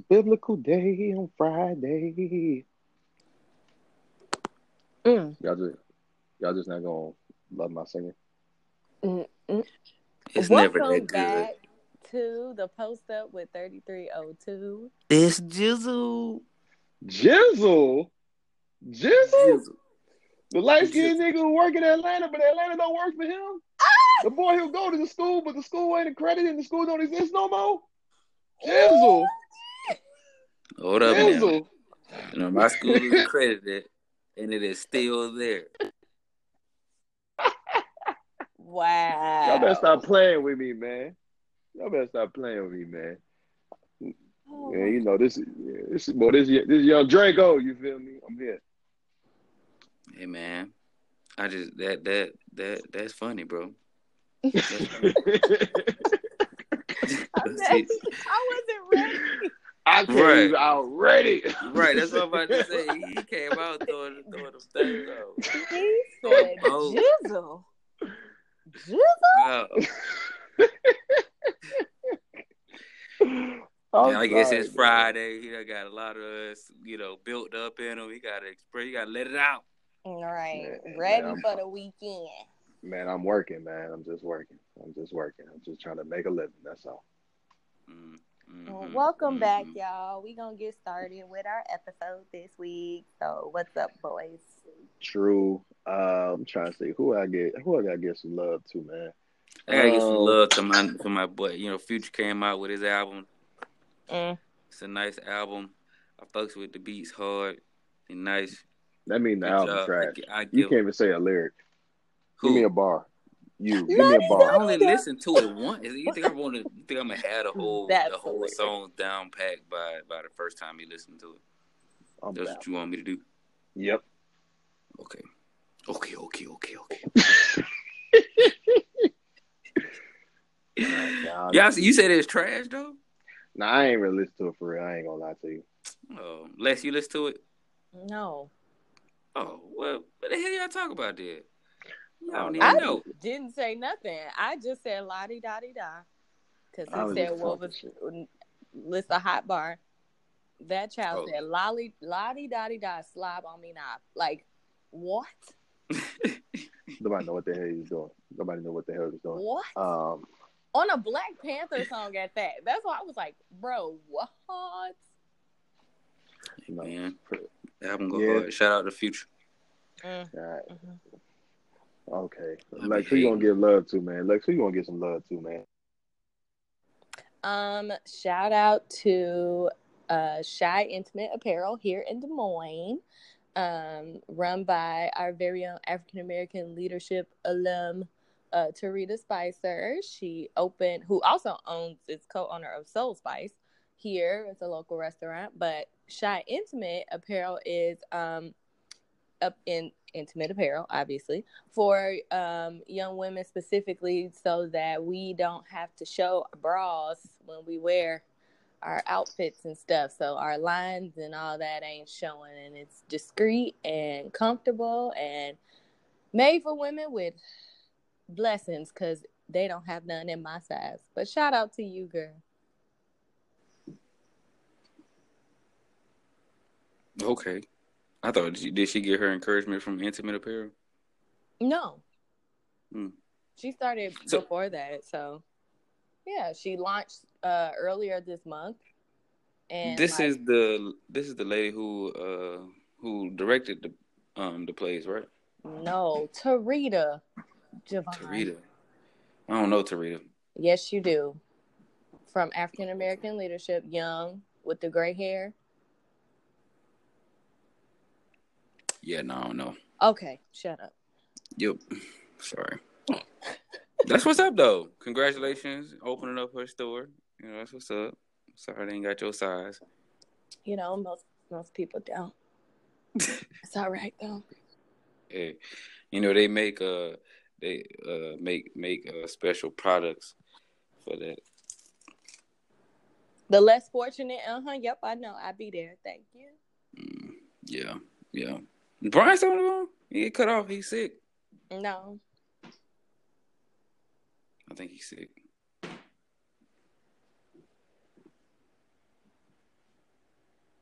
biblical day on Friday. Mm. Y'all just not gonna love my singing. Mm-mm. It's never Welcome that good. back to the Post Up with 3302. It's Jizzle. Jizzle, Jizzle, Jizzle. the light Jizzle. skinned nigga who work in Atlanta, but Atlanta don't work for him. The boy who go to the school, but the school ain't accredited and the school don't exist no more. Jizzle, Hold up now. Jizzle. You know, my school is accredited, and it is still there. Wow. Y'all better stop playing with me, man. Y'all better stop playing with me, man. Oh, Yeah, you know this young Draco. You feel me? I'm here. Hey man, I just that's funny, bro. That's funny. I wasn't ready. I came out ready. Right, that's what I'm about to say. He came out throwing them things out. He said, Jizzle. Wow. I guess it's Friday. He got a lot of us, built up in him. He got to express. You got to let it out. All right, ready for the weekend. Man, I'm working, man. I'm just working. I'm just trying to make a living. That's all. Mm-hmm. Well, welcome back, y'all. We're going to get started with our episode this week. So, what's up, boys? True. I'm trying to see who I gotta get some love to, man. I gotta get some love to my boy. Future came out with his album. It's a nice album. I fucks with the beats hard and nice. That means the album trash. You can't even say a lyric. Who? Give me a bar. Give me a bar. I only listened to it once. You think I'm gonna have the whole song down packed by the first time you listen to it? That's what you want me to do? Yep. Okay. Yeah, you said it's trash though? Nah, I ain't really listened to it for real. I ain't gonna lie to you. Oh, Les, you listen to it? No. Oh, well, what the hell y'all talk about there? I didn't say nothing. I just said la-di-da-di-da. Because he said, what was list a hot bar. That child said, la-di-da-di-da, slob on me now. Like, what? Nobody know what the hell he's doing. What? On a Black Panther song at that. That's why I was like, bro, what? Man, album go hard. Shout out to Future. All right. Okay. Lex, who you gonna give love to, man? Lex, who you gonna get some love to, man? Shout out to Shy Intimate Apparel here in Des Moines. Run by our very own African American leadership alum, Tarita Spicer. Who also is co-owner of Soul Spice here. It's a local restaurant, but Shy Intimate Apparel is up in intimate apparel, obviously, for young women specifically, so that we don't have to show our bras when we wear our outfits and stuff. So our lines and all that ain't showing, and it's discreet and comfortable and made for women with blessings, because they don't have none in my size. But shout out to you, girl. Okay. I thought, did she get her encouragement from Intimate Apparel? No. She started before that. So, yeah, she launched earlier this month. And this is the lady who directed the plays, right? No, Tarita. Javon. Tarita. I don't know Tarita. Yes, you do. From African American Leadership, young with the gray hair. Yeah, no, I don't know. Okay, shut up. Yep. Sorry. That's what's up, though. Congratulations opening up her store. That's what's up. Sorry they ain't got your size. Most people don't. It's all right though. Hey, they make special products for that. The less fortunate, yep, I know. I'll be there. Thank you. Yeah. Brian's on the phone? He get cut off. He's sick. No. I think he's sick.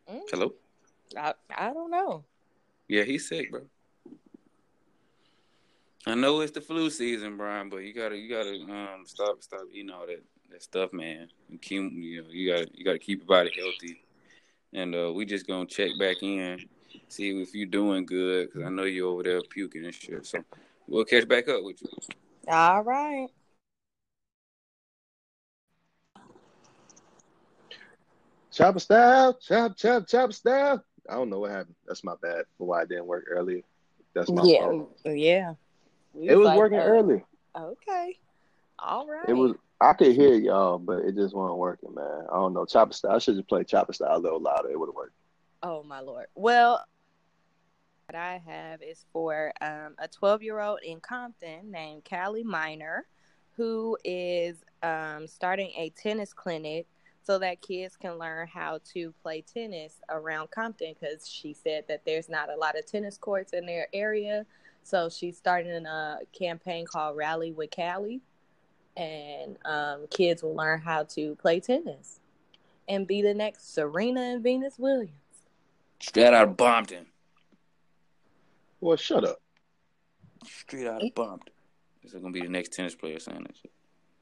Hello? I don't know. Yeah, he's sick, bro. I know it's the flu season, Brian, but you gotta stop eating all that stuff, man. You gotta keep your body healthy, and we just gonna check back in, see if you're doing good, because I know you're over there puking and shit. So we'll catch back up with you. All right. Chopper style, chop style. I don't know what happened. That's my bad for why it didn't work earlier. That's my fault. Yeah. It was like, working earlier. Okay. All right. It was. I could hear y'all, but it just wasn't working, man. I don't know. Chopper style. I should just play chopper style a little louder. It would have worked. Oh my Lord. Well, what I have is for a 12-year-old in Compton named Callie Miner, who is starting a tennis clinic so that kids can learn how to play tennis around Compton, because she said that there's not a lot of tennis courts in their area. So she's starting a campaign called Rally with Callie, and kids will learn how to play tennis and be the next Serena and Venus Williams. Straight out of Bompton. Well, shut up. Straight out of Bompton. This is gonna be the next tennis player saying that shit.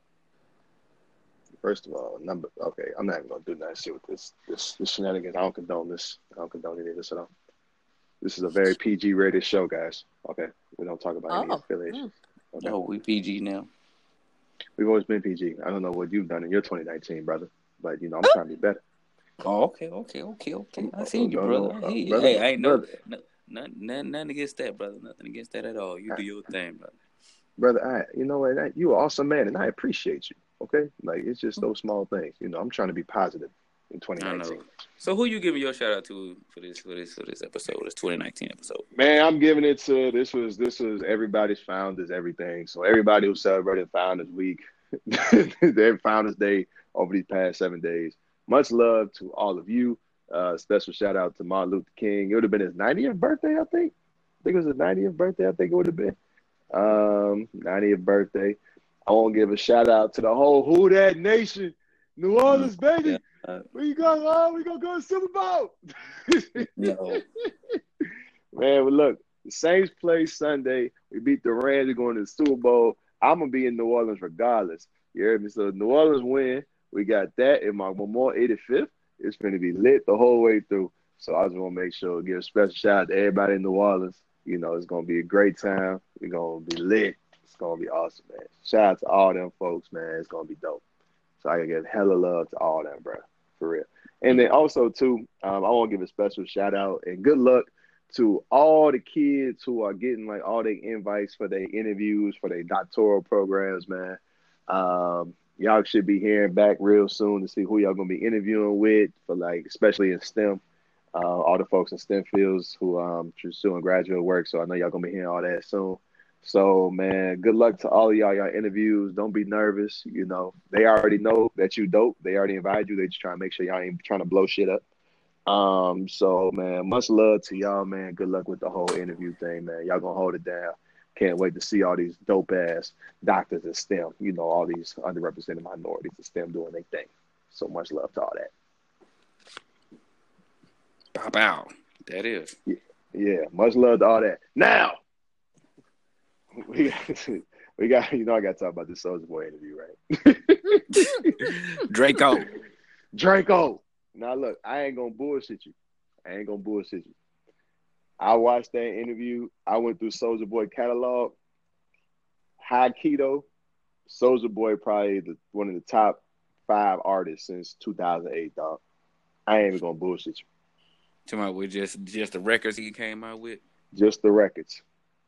First of all, okay, I'm not even gonna do that shit with this shenanigans. I don't condone this. I don't condone any of this at all. This is a very PG rated show, guys. Okay, we don't talk about any affiliations. Okay. No, we PG now. We've always been PG. I don't know what you've done in your 2019, brother, but I'm trying to be better. Oh, okay. I seen you, brother. Hey, I ain't nothing against that, brother. Nothing against that at all. You do your thing, brother. Brother, you know what? You're an awesome man, and I appreciate you. Okay, like it's just those small things. I'm trying to be positive in 2019. I know. So who you giving your shout out to for this episode, this 2019 episode? Man, I'm giving it to this was everybody's Founders everything. So everybody who celebrated Founders Week, their Founders Day over these past 7 days. Much love to all of you. Special shout out to Martin Luther King. It would have been his 90th birthday, I think. I think it was his 90th birthday. I think it would have been 90th birthday. I want to give a shout out to the whole Who Dat Nation, New Orleans, baby. Yeah. We gonna go to Super Bowl. No. Man, look, the Saints play Sunday. We beat the Rams. We're going to the Super Bowl. I'm gonna be in New Orleans regardless. You heard me? So New Orleans win. We got that in my Memorial 85th. It's going to be lit the whole way through. So I just want to make sure give a special shout out to everybody in New Orleans. It's going to be a great time. We're going to be lit. It's going to be awesome, man. Shout out to all them folks, man. It's going to be dope. So I can give hella love to all them, bro. For real. And then also, too, I want to give a special shout out and good luck to all the kids who are getting, like, all their invites for their interviews, for their doctoral programs, man. Y'all should be hearing back real soon to see who y'all going to be interviewing with, for, like, especially in STEM. All the folks in STEM fields who pursuing graduate work. So I know y'all going to be hearing all that soon. So, man, good luck to all of y'all interviews. Don't be nervous. They already know that you dope. They already invited you. They just trying to make sure y'all ain't trying to blow shit up. So, man, much love to y'all, man. Good luck with the whole interview thing, man. Y'all going to hold it down. Can't wait to see all these dope-ass doctors in STEM. All these underrepresented minorities in STEM doing their thing. So much love to all that. Pop out. That is. Yeah, much love to all that. Now, we got I got to talk about this Soulja Boy interview, right? Draco. Now, look, I ain't going to bullshit you. I watched that interview. I went through Soulja Boy catalog. High Keto, Soulja Boy probably one of the top 5 artists since 2008, dog. I ain't even going to bullshit you. Talking about with just the records he came out with? Just the records.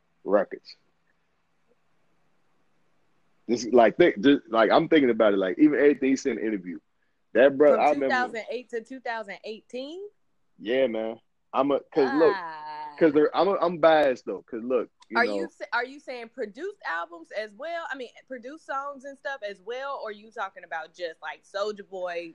Just like I'm thinking about it, like even everything he said in the interview. That brother, from 2008 to 2018. Yeah, man. I'm biased though, cause look. Are you saying produced albums as well? I mean, produced songs and stuff as well, or are you talking about just like Soulja Boy?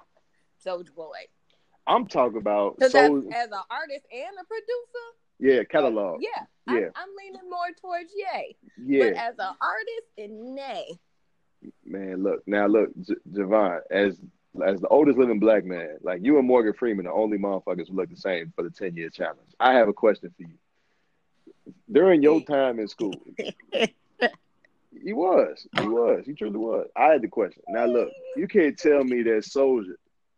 I'm talking about as an artist and a producer. Yeah, catalog. Yeah. I'm leaning more towards yay. Yeah. But as an artist, nay. Man, look, Javon, as as the oldest living black man, like you and Morgan Freeman, the only motherfuckers who look the same for the 10-year challenge. I have a question for you. During your time in school, he truly was. I had the question. Now look, you can't tell me that Soulja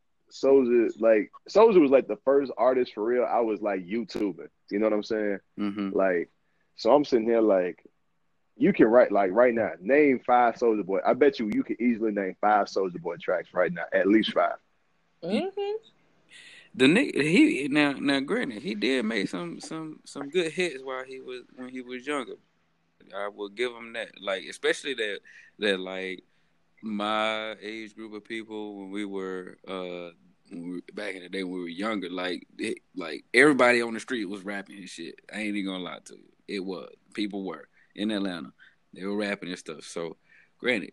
was like the first artist for real. I was like YouTubing. You know what I'm saying? Mm-hmm. Like, so I'm sitting here like, you can write like right now, name 5 Soulja Boy. I bet you can easily name 5 Soulja Boy tracks right now, at least 5. Mm-hmm. The nigga, now granted, he did make some good hits when he was younger. I will give him that. Like, especially that like my age group of people when we were back in the day when we were younger, like everybody on the street was rapping his shit. I ain't even gonna lie to you. It was. People were in Atlanta. They were rapping and stuff. So granted,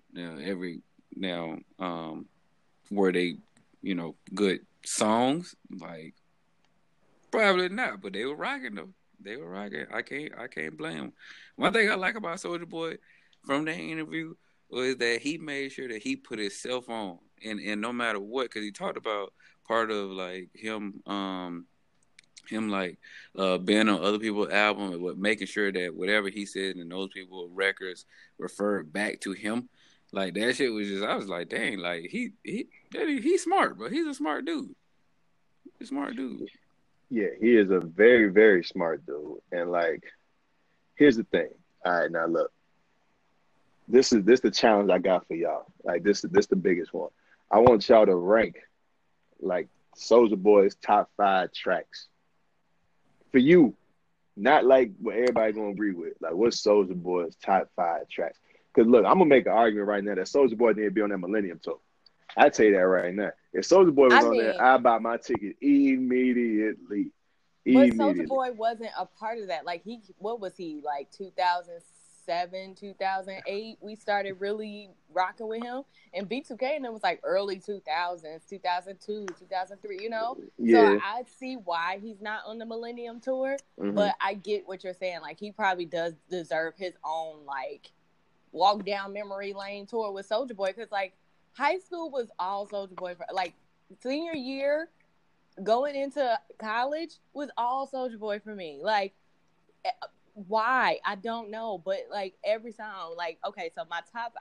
were they, good songs? Like, probably not, but they were rocking though. They were rocking. I can't blame them. One thing I like about Soulja Boy from that interview was that he made sure that he put himself on, and no matter what, because he talked about part of like him like being on other people's album, but making sure that whatever he said in those people's records referred back to him. Like that shit was just, I was like, dang, like he's smart, bro. He's a smart dude. He's a smart dude. Yeah, he is a very, very smart dude. And like, here's the thing. All right, now look. This the challenge I got for y'all. Like this the biggest one. I want y'all to rank like Soulja Boy's top 5 tracks. For you, not like what everybody gonna agree with. Like what's Soulja Boy's top 5 tracks? Because look, I'm gonna make an argument right now that Soulja Boy need to be on that Millennium Tour. I tell you that right now. If Soulja Boy was on there, I'd buy my ticket immediately. But Soulja Boy wasn't a part of that. Like what was he, like 2007, 2008? We started really rocking with him, and B2K, and it was like early 2000s, 2002, 2003. Yeah. So I see why he's not on the Millennium Tour, Mm-hmm. but I get what you're saying. Like he probably does deserve his own like walk down memory lane tour with Soulja Boy, because like high school was all Soulja Boy. Like senior year, going into college was all Soulja Boy for me. Like, why? I don't know. But like every song, like, okay, so my top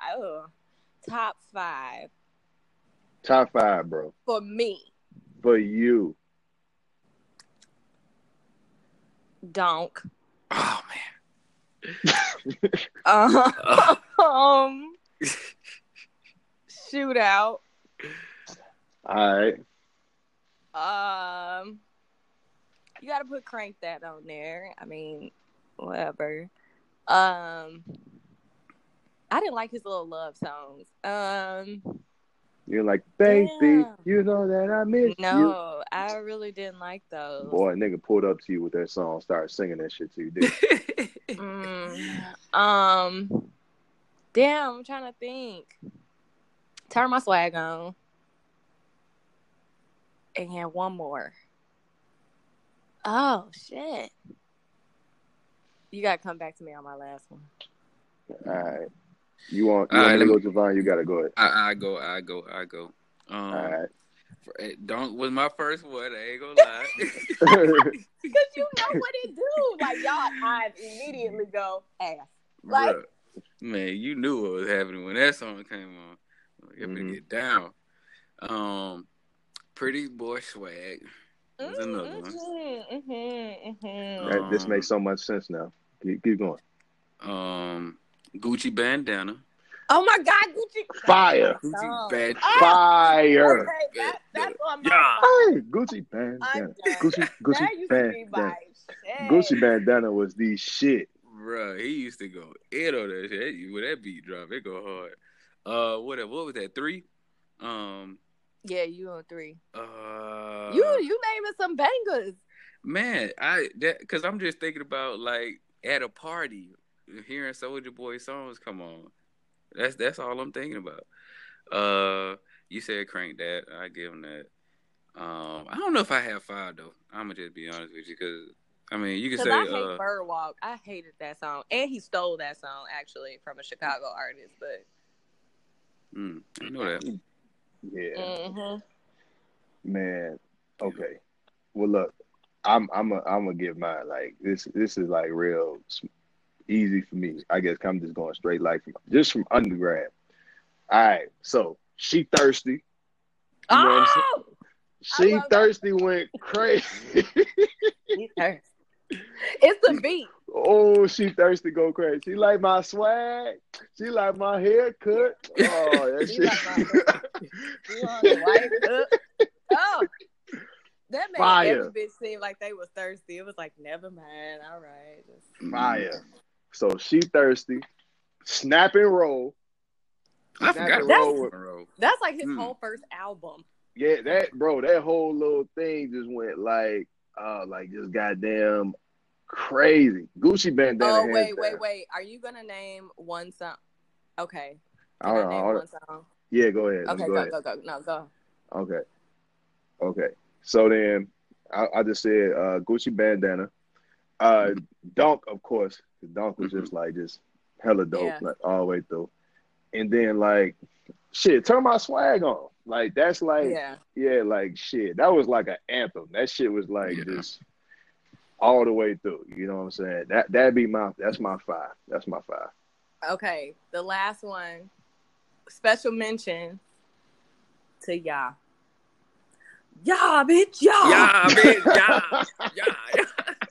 5. Top 5, bro. For me. For you. Donk. Oh man. Shootout. All right. You gotta put Crank That on there. I mean, whatever. I didn't like his little love songs. You're like, baby, damn. you know that I miss you. No, I really didn't like those. Boy, a nigga pulled up to you with that song, started singing that shit to you, did Damn, I'm trying to think. Turn My Swag On. And one more. Oh, shit. You got to come back to me on my last one. All right. You want me to go, Javon? You got to go ahead. I go. All right. Donk was my first one. I ain't gonna lie. Because you know what it do. Like, y'all, I immediately go ass. Like, bruh, man, you knew what was happening when that song came on. You better get down. Pretty Boy Swag. That's another one. This makes so much sense now. Keep going. Gucci Bandana. Oh my God, Gucci. Fire. Gucci Bandana. Fire. Okay, that's on my Hey, Gucci Bandana. Gucci Bandana. shit. Gucci Bandana was the shit. Bruh, he used to go in on that shit. When that beat drop, it go hard. What was that? 3? Yeah, you on 3. You naming some bangers. Man, because I'm just thinking about like at a party hearing Soulja Boy songs come on. That's all I'm thinking about. You said Crank That. I give him that. I don't know if I have 5 though. I'm gonna just be honest with you, because I mean you can say I hate Birdwalk. I hated that song, and he stole that song actually from a Chicago artist. But I know that. Yeah, Mm-hmm. man. Okay. Well, look, I'm gonna give mine. Like this is like real easy for me. I guess I'm just going straight like from undergrad. All right. So she thirsty. You know what I'm saying? Oh, I She love that. thirsty went crazy. She's thirsty. It's the beat. Oh, she thirsty go crazy. She like my swag. She like my haircut. Oh, that She shit. like my You want the white cup? Oh, that made every Fire. bitch seem like they was thirsty. It was like, never mind. All right. Fire. So she thirsty. Snap and roll. I Snap forgot and about roll. Monroe. That's like his whole first album. Yeah, that whole little thing just went like just goddamn crazy. Gucci bandana. Oh, hands wait. down. Are you gonna name one song? Okay. Can Hold I on, name hold one on. song? Yeah, go ahead. Okay, Go ahead. go. No, go. Okay. So then I just said Gucci bandana. Dunk, of course. Dunk was just hella dope, Yeah. like all the way through. And then like shit, turn my swag on. Like that's like Yeah. like shit. That was like an anthem. That shit was like just all the way through. You know what I'm saying? That's my five. That's my five. Okay. The last one. Special mention to Ya. Ya, bitch, ya. Yeah, bitch. Yeah.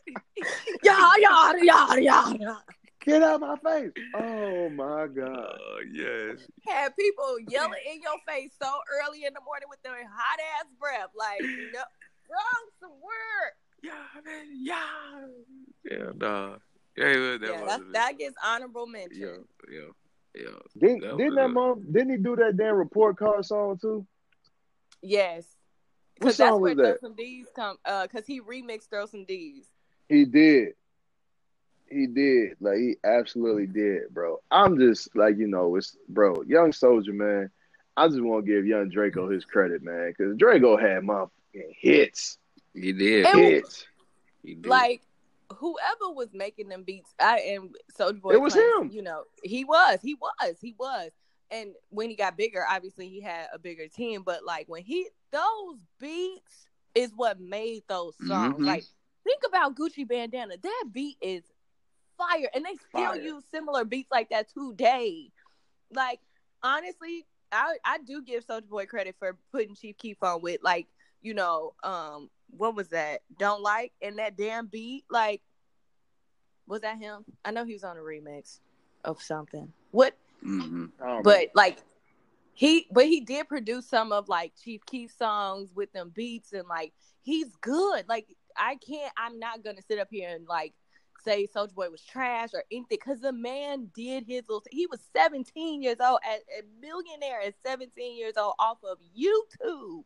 Ya. Get out of my face. Oh my God. Yes. Had people yelling in your face so early in the morning with their hot ass breath. Like, no, wrong some word. Yeah, man. Yeah. Yeah, dog. Yeah, That gets honorable mention. Yeah. Didn't he do that damn report card song too? Yes. What Because that's song where was that? Throw Some D's come. Because he remixed Throw Some D's. He did. Like he absolutely did, bro. I'm just like, it's bro, Young Soldier, man. I just want to give Young Draco his credit, man, because Draco had motherfucking hits. He did. Hits. He did. Like, whoever was making them beats, and Soulja Boy, it was him. He was. And when he got bigger, obviously he had a bigger team. But like those beats is what made those songs. Mm-hmm. Like, think about Gucci Bandana. That beat is fire, and they still use similar beats like that today. Like, honestly, I do give Soulja Boy credit for putting Chief Keef on with like, what was that? Don't Like, and that damn beat. Like, was that him? I know he was on a remix of something. What? Mm-hmm. But like he did produce some of like Chief Keef songs with them beats, and like he's good. Like I'm not gonna sit up here and like say Soulja Boy was trash or anything, because the man did his little. He was 17 years old, a millionaire at 17 years old off of YouTube.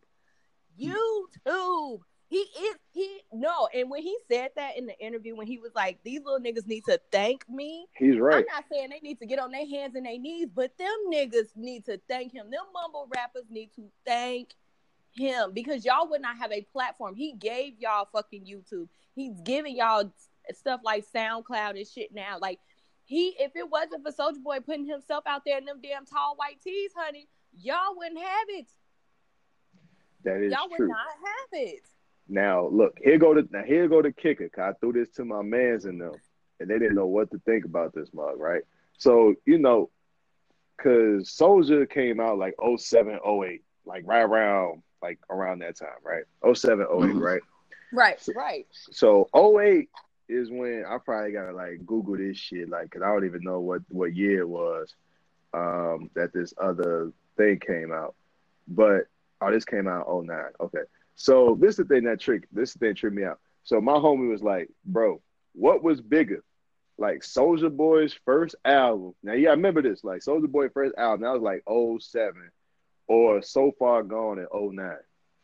And when he said that in the interview, when he was like, these little niggas need to thank me. He's right. I'm not saying they need to get on their hands and their knees, but them niggas need to thank him. Them mumble rappers need to thank him, because y'all would not have a platform. He gave y'all fucking YouTube. He's giving y'all stuff like SoundCloud and shit now. Like, if it wasn't for Soulja Boy putting himself out there in them damn tall white tees, honey, y'all wouldn't have it. That is y'all true. Would not have it. Now look, here go the kicker. Cause I threw this to my mans in them, and they didn't know what to think about this mug, right? So cause Soulja came out like 07, 08, like right around that time, right? 07, 08, right? Right. So 08 is when I probably gotta like Google this shit, like, cause I don't even know what year it was that this other thing came out. But this came out in 09. Okay. So this is the thing that tricked me out. So my homie was like, bro, what was bigger? Like Soulja Boy's first album. Now, yeah, I remember this. Like Soulja Boy's first album, that was like 07, or So Far Gone in 09.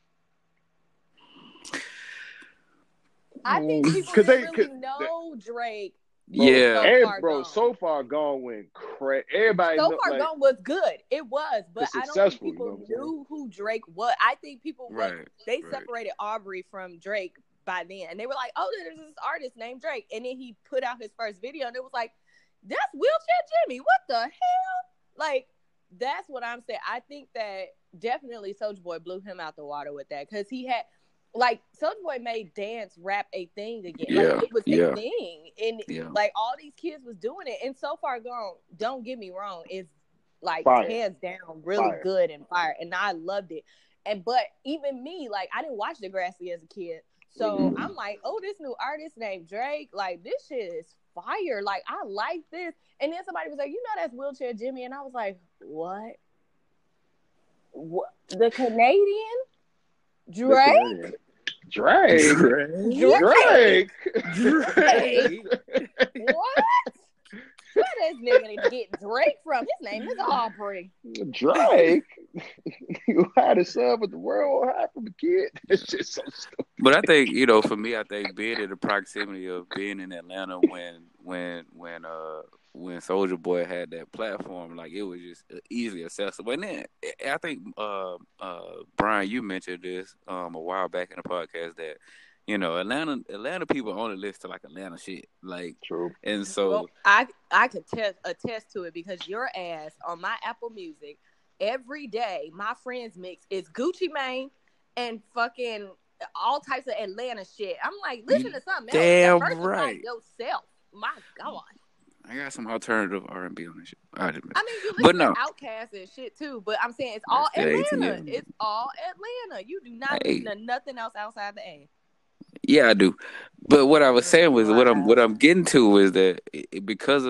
I think people didn't really know Drake. Bro, So Far Gone went crazy. Everybody So Far Gone was good. It was, but I don't think people knew who Drake was. I think people separated Aubrey from Drake by then, and they were like, "Oh, there's this artist named Drake," and then he put out his first video, and it was like, "That's Wheelchair Jimmy. What the hell?" Like, that's what I'm saying. I think that definitely Soulja Boy blew him out the water with that because he had. Like Soulja Boy made dance rap a thing again. Like it was a thing, and like all these kids was doing it. And So Far Gone, don't get me wrong, is like hands down really good and fire, and I loved it. But even me, like I didn't watch Degrassi as a kid, so I'm like, oh, this new artist named Drake, like this shit is fire. Like I like this. And then somebody was like, you know, that's Wheelchair Jimmy, and I was like, what? The Canadian? Drake? What? Where this nigga need to get Drake from? His name is Aubrey. Drake? You had a son, but the world won't happen, kid. It's just so stupid. But I think, for me, I think being in the proximity of being in Atlanta when Soulja Boy had that platform, like it was just easily accessible. And then I think Brian, you mentioned this a while back in the podcast that Atlanta people only listen to like Atlanta shit, like true. And so I could attest to it because your ass on my Apple Music every day, my friends mix is Gucci Mane and fucking all types of Atlanta shit. I'm like, listen to something else. Damn right. Yourself. My God. I got some alternative R&B on this shit. I mean, you listen to Outkast and shit too, but I'm saying it's all Atlanta. It's all Atlanta. You do not listen to nothing else outside the A. Yeah, I do. But what I was saying was what I'm getting to is that because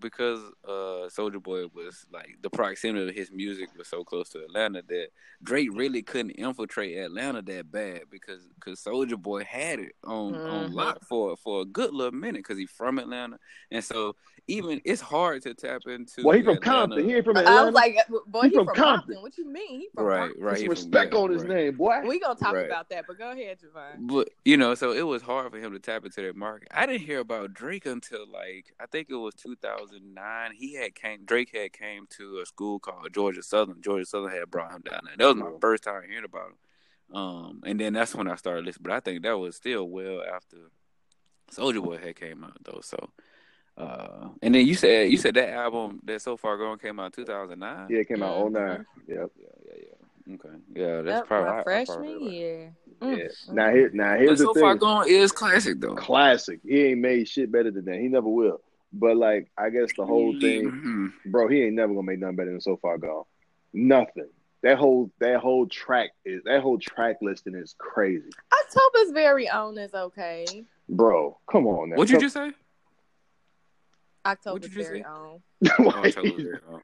Soulja Boy was like the proximity of his music was so close to Atlanta that Drake really couldn't infiltrate Atlanta that bad because Soulja Boy had it on lock for a good little minute because he's from Atlanta, and so even it's hard to tap into. Well, he from Compton. He ain't from Atlanta. I was like, boy, he from Compton. What you mean? He from Compton. Right. Some respect on his name, boy. We gonna talk about that, but go ahead, Javon. But so it was hard for him to tap into that market. I didn't hear about Drake until like I think it was 2009. Drake had came to a school called Georgia Southern. Georgia Southern had brought him down there. That was my first time hearing about him. And then that's when I started listening. But I think that was still well after Soulja Boy had came out though. So. And then you said that album that So Far Gone came out in 2009. Yeah, it came out 2009. Yep. Yeah. Okay. Yeah, that's probably my freshman year. Yeah. Now here's the thing. So Far Gone is classic though. Classic. He ain't made shit better than that. He never will. But like, I guess the whole thing, bro, he ain't never gonna make nothing better than So Far Gone. Nothing. That whole track listing is crazy. October's Very Own is okay. Bro, come on now. What'd you just say? October's Very Own. October's Very Own.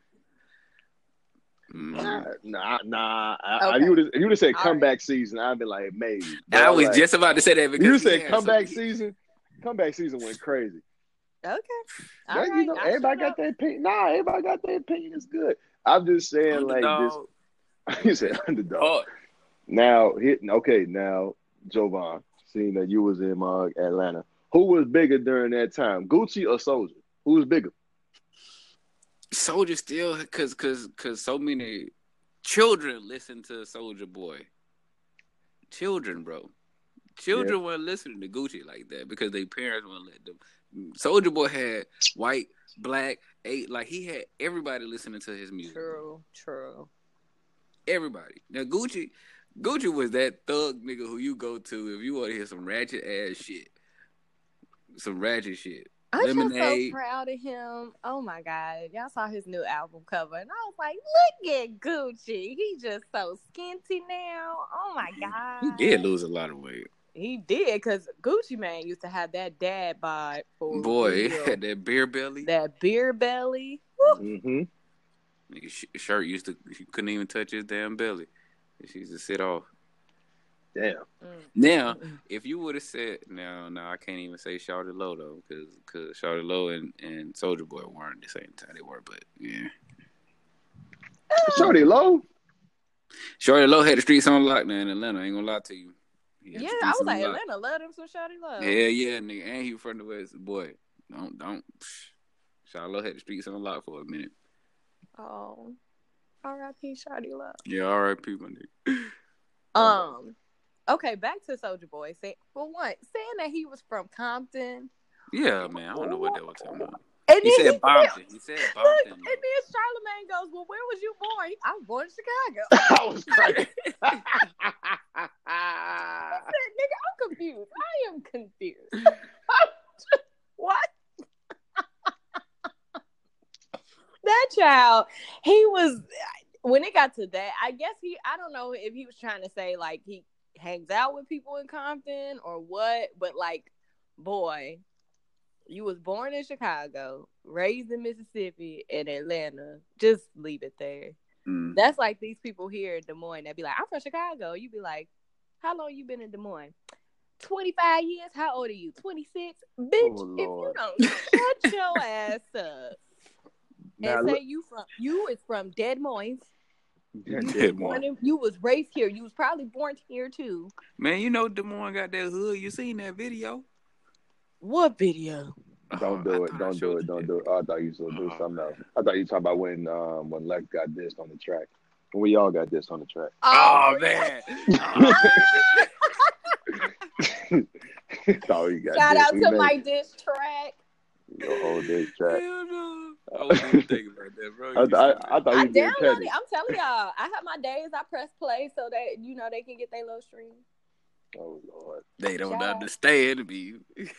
Nah. Okay. You would have said comeback season. I'd be like, maybe. But I was just about to say that because you said comeback season. Comeback season went crazy. Okay. Everybody got their opinion. Nah, everybody got their opinion. It's good. I'm just saying, Underdog. Like this. You said underdog. Now, Jovan, seeing that you was in Atlanta, who was bigger during that time, Gucci or Soulja? Who was bigger? Soulja still, cause so many children listen to Soulja Boy. Children, bro. Children weren't listening to Gucci like that because their parents wouldn't let them. Soulja Boy had white, black, like he had everybody listening to his music. True. Everybody. Now Gucci was that thug nigga who you go to if you want to hear some ratchet ass shit. Some ratchet shit. I'm just so proud of him. Oh my God. Y'all saw his new album cover and I was like, look at Gucci. He just so skinty now. Oh my God. He did lose a lot of weight. He did because Gucci Mane used to have that dad bod for boy, had that beer belly. That beer belly. Mm-hmm. Nigga shirt he couldn't even touch his damn belly. She used to sit off. Damn. Now, if you would have said, no, I can't even say Shawty Lo though, because Shawty Lo and Soulja Boy weren't the same time they were, but yeah. Shawty Lo had the streets on lock now in Atlanta. I ain't gonna lie to you. Yeah, I was like, Atlanta love him some Shawty Lo. Yeah, nigga, and he from the West. Boy, don't. Shawty Lo had the streets on lock for a minute. Oh, R.I.P. Shawty Lo. Yeah, R.I.P. my nigga. Okay, back to Soulja Boy. Saying that he was from Compton. Yeah, man, I don't know what they were talking about. And He then said Bompton. He said look, Bompton. and then Charlamagne goes, "Well, where was you born?" I was born in Chicago. I was crazy. I said, "Nigga, I'm confused. I am confused." What? That child, he was. When it got to that, I guess I don't know if he was trying to say like he hangs out with people in Compton or what, but like, boy, you was born in Chicago, raised in Mississippi and Atlanta. Just leave it there. That's like these people here in Des Moines that be like, I'm from Chicago. You be like, how long you been in Des Moines? 25 years? How old are you? 26? Bitch, if you don't shut your ass up and say you is from Des Moines. You was raised here. You was probably born here too. Man, you know Des Moines got that hood. You seen that video? What video? Don't do it. Don't do it. Oh, I thought you were do something else. I thought you were talking about when Lex got dissed on the track. We all got dissed on the track. Oh man. Shout out to my diss track. Your whole diss track. Hell no. I wasn't even thinking about that, bro. I thought you did petty. I'm telling y'all, I have my days I press play so that they can get their little stream. Oh Lord. They don't understand me.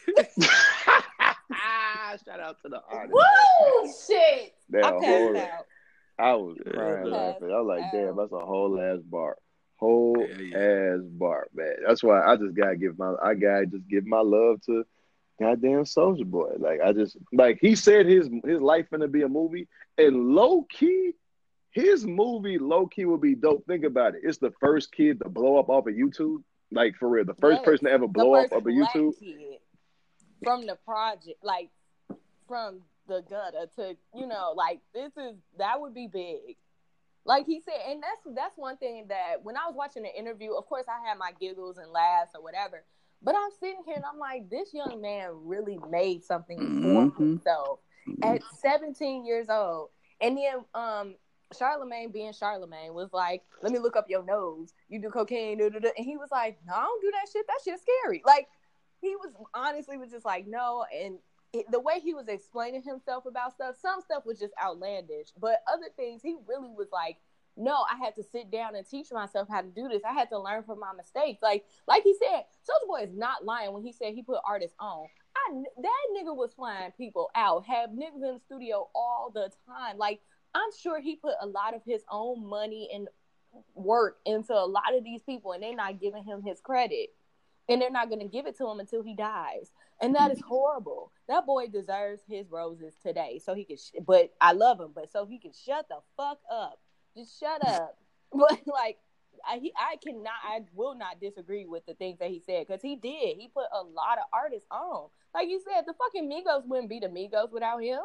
Shout out to the artist. Woo! Shit. I passed out. I was crying laughing. I was like, damn, that's a whole ass bar. Ass bar, man. That's why I just gotta give my love to goddamn Soulja Boy. Like he said his life gonna be a movie, and low key, his movie low key will be dope. Think about it. It's the first kid to blow up off of YouTube. Like for real, the first person to ever blow up off of YouTube. Kid from the project, like from the gutter to like that would be big. Like he said, and that's one thing that when I was watching the interview, of course I had my giggles and laughs or whatever, but I'm sitting here and I'm like, this young man really made something for himself at 17 years old. And then Charlamagne being Charlamagne was like, let me look up your nose. You do cocaine, and he was like, no, I don't do that shit. That shit's scary. Like he was just like, no. And the way he was explaining himself about stuff, some stuff was just outlandish, but other things he really was like, no, I had to sit down and teach myself how to do this. I had to learn from my mistakes. Like he said, Soulja Boy is not lying when he said he put artists on. That nigga was flying people out, have niggas in the studio all the time. Like I'm sure he put a lot of his own money and work into a lot of these people, and they're not giving him his credit. And they're not going to give it to him until he dies. And that is horrible. That boy deserves his roses today. So he can, but I love him, but so he can shut the fuck up. Just shut up. But like, I will not disagree with the things that he said, because he did. He put a lot of artists on. Like you said, the fucking Migos wouldn't be the Migos without him.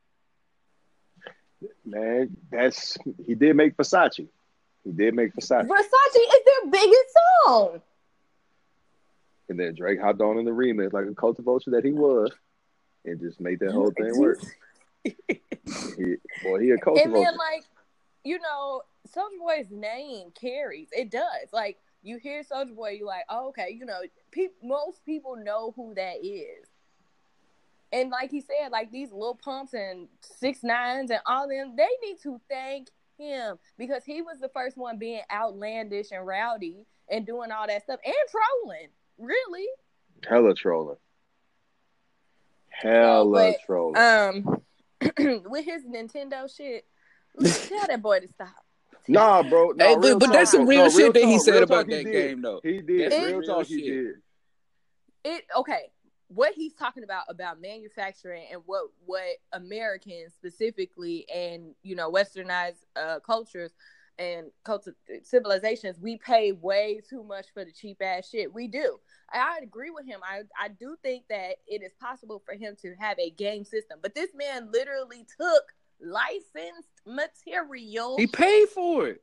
Man, he did make Versace. Versace is their biggest song. And then Drake hopped on in the remix like a cultivator that he was, and just made that whole thing work. He a cultivator. And then Soulja Boy's name carries. It does. Like you hear Soulja Boy, you're like, oh, okay, most people know who that is. And like he said, like these Lil Pumps and 6ix9ine and all them, they need to thank him, because he was the first one being outlandish and rowdy and doing all that stuff and trolling. Really? Hella trolling. With his Nintendo shit, tell that boy to stop. Nah, bro. Hey, but that's some real shit that he said about that game, though. He did. Real talk, he did. Okay. What he's talking about manufacturing and what Americans specifically and westernized cultures and civilizations, we pay way too much for the cheap ass shit. We do. I agree with him. I do think that it is possible for him to have a game system, but this man literally took licensed material. He paid for it.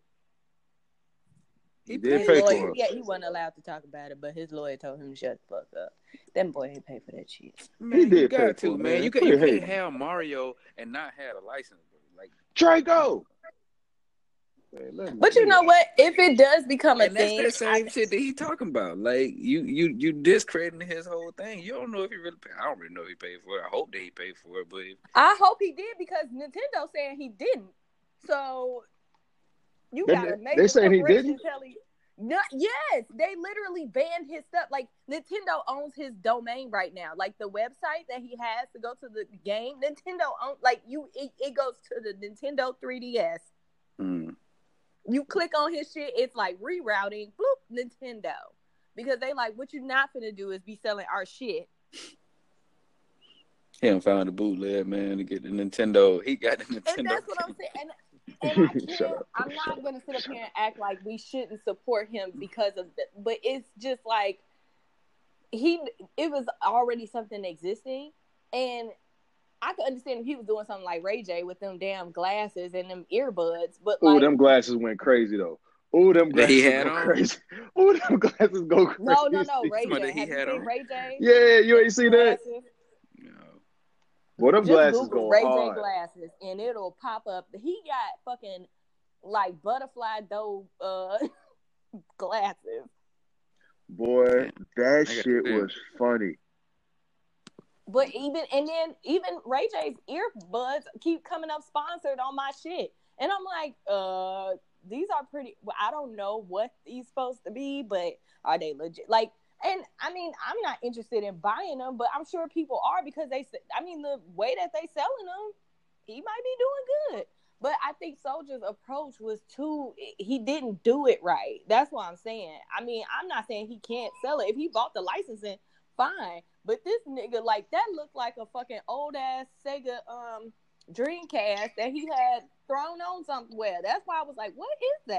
He did pay for it. Yeah, he wasn't allowed to talk about it, but his lawyer told him to shut the fuck up. That boy ain't pay for that shit. Man, he did pay for it, man. You can't have Mario and not have a license. Like Draco. Man, But you know what? If it does become a And that's thing, that same shit that he talking about. Like you discrediting his whole thing. You don't know if he really paid. I don't really know if he paid for it. I hope that he paid for it, but I hope he did because Nintendo saying he didn't. So you gotta make they the saying he corporation didn't? tell him. No, yes, they literally banned his stuff. Like Nintendo owns his domain right now. Like the website that he has to go to the game, Nintendo owns. Like it goes to the Nintendo 3DS. You click on his shit, it's like rerouting, bloop, Nintendo. Because they like, what you not finna do is be selling our shit. he done found the bootleg, man, to get the Nintendo. He got the Nintendo. And that's what I'm saying. And I can't, I'm not going to sit up here and act like we shouldn't support him because of that. But it's just like, it was already something existing. And I could understand if he was doing something like Ray J with them damn glasses and them earbuds. But like, them glasses went crazy, though. Oh, them glasses go crazy. Oh, them glasses go crazy. No, Ray J. Have you seen Ray J? Yeah, you ain't seen that? No. Well, them just glasses Google go Ray hard. J glasses and it'll pop up. He got fucking like butterfly dough glasses. Boy, that shit was funny. But even Ray J's earbuds keep coming up sponsored on my shit. And I'm like, these are pretty, well, I don't know what these supposed to be, but are they legit? Like, and I mean, I'm not interested in buying them, but I'm sure people are because the way that they selling them, he might be doing good. But I think Soldier's approach was he didn't do it right. That's what I'm saying. I mean, I'm not saying he can't sell it. If he bought the licensing, fine. But this nigga, like, that looked like a fucking old ass Sega Dreamcast that he had thrown on somewhere. That's why I was like, what is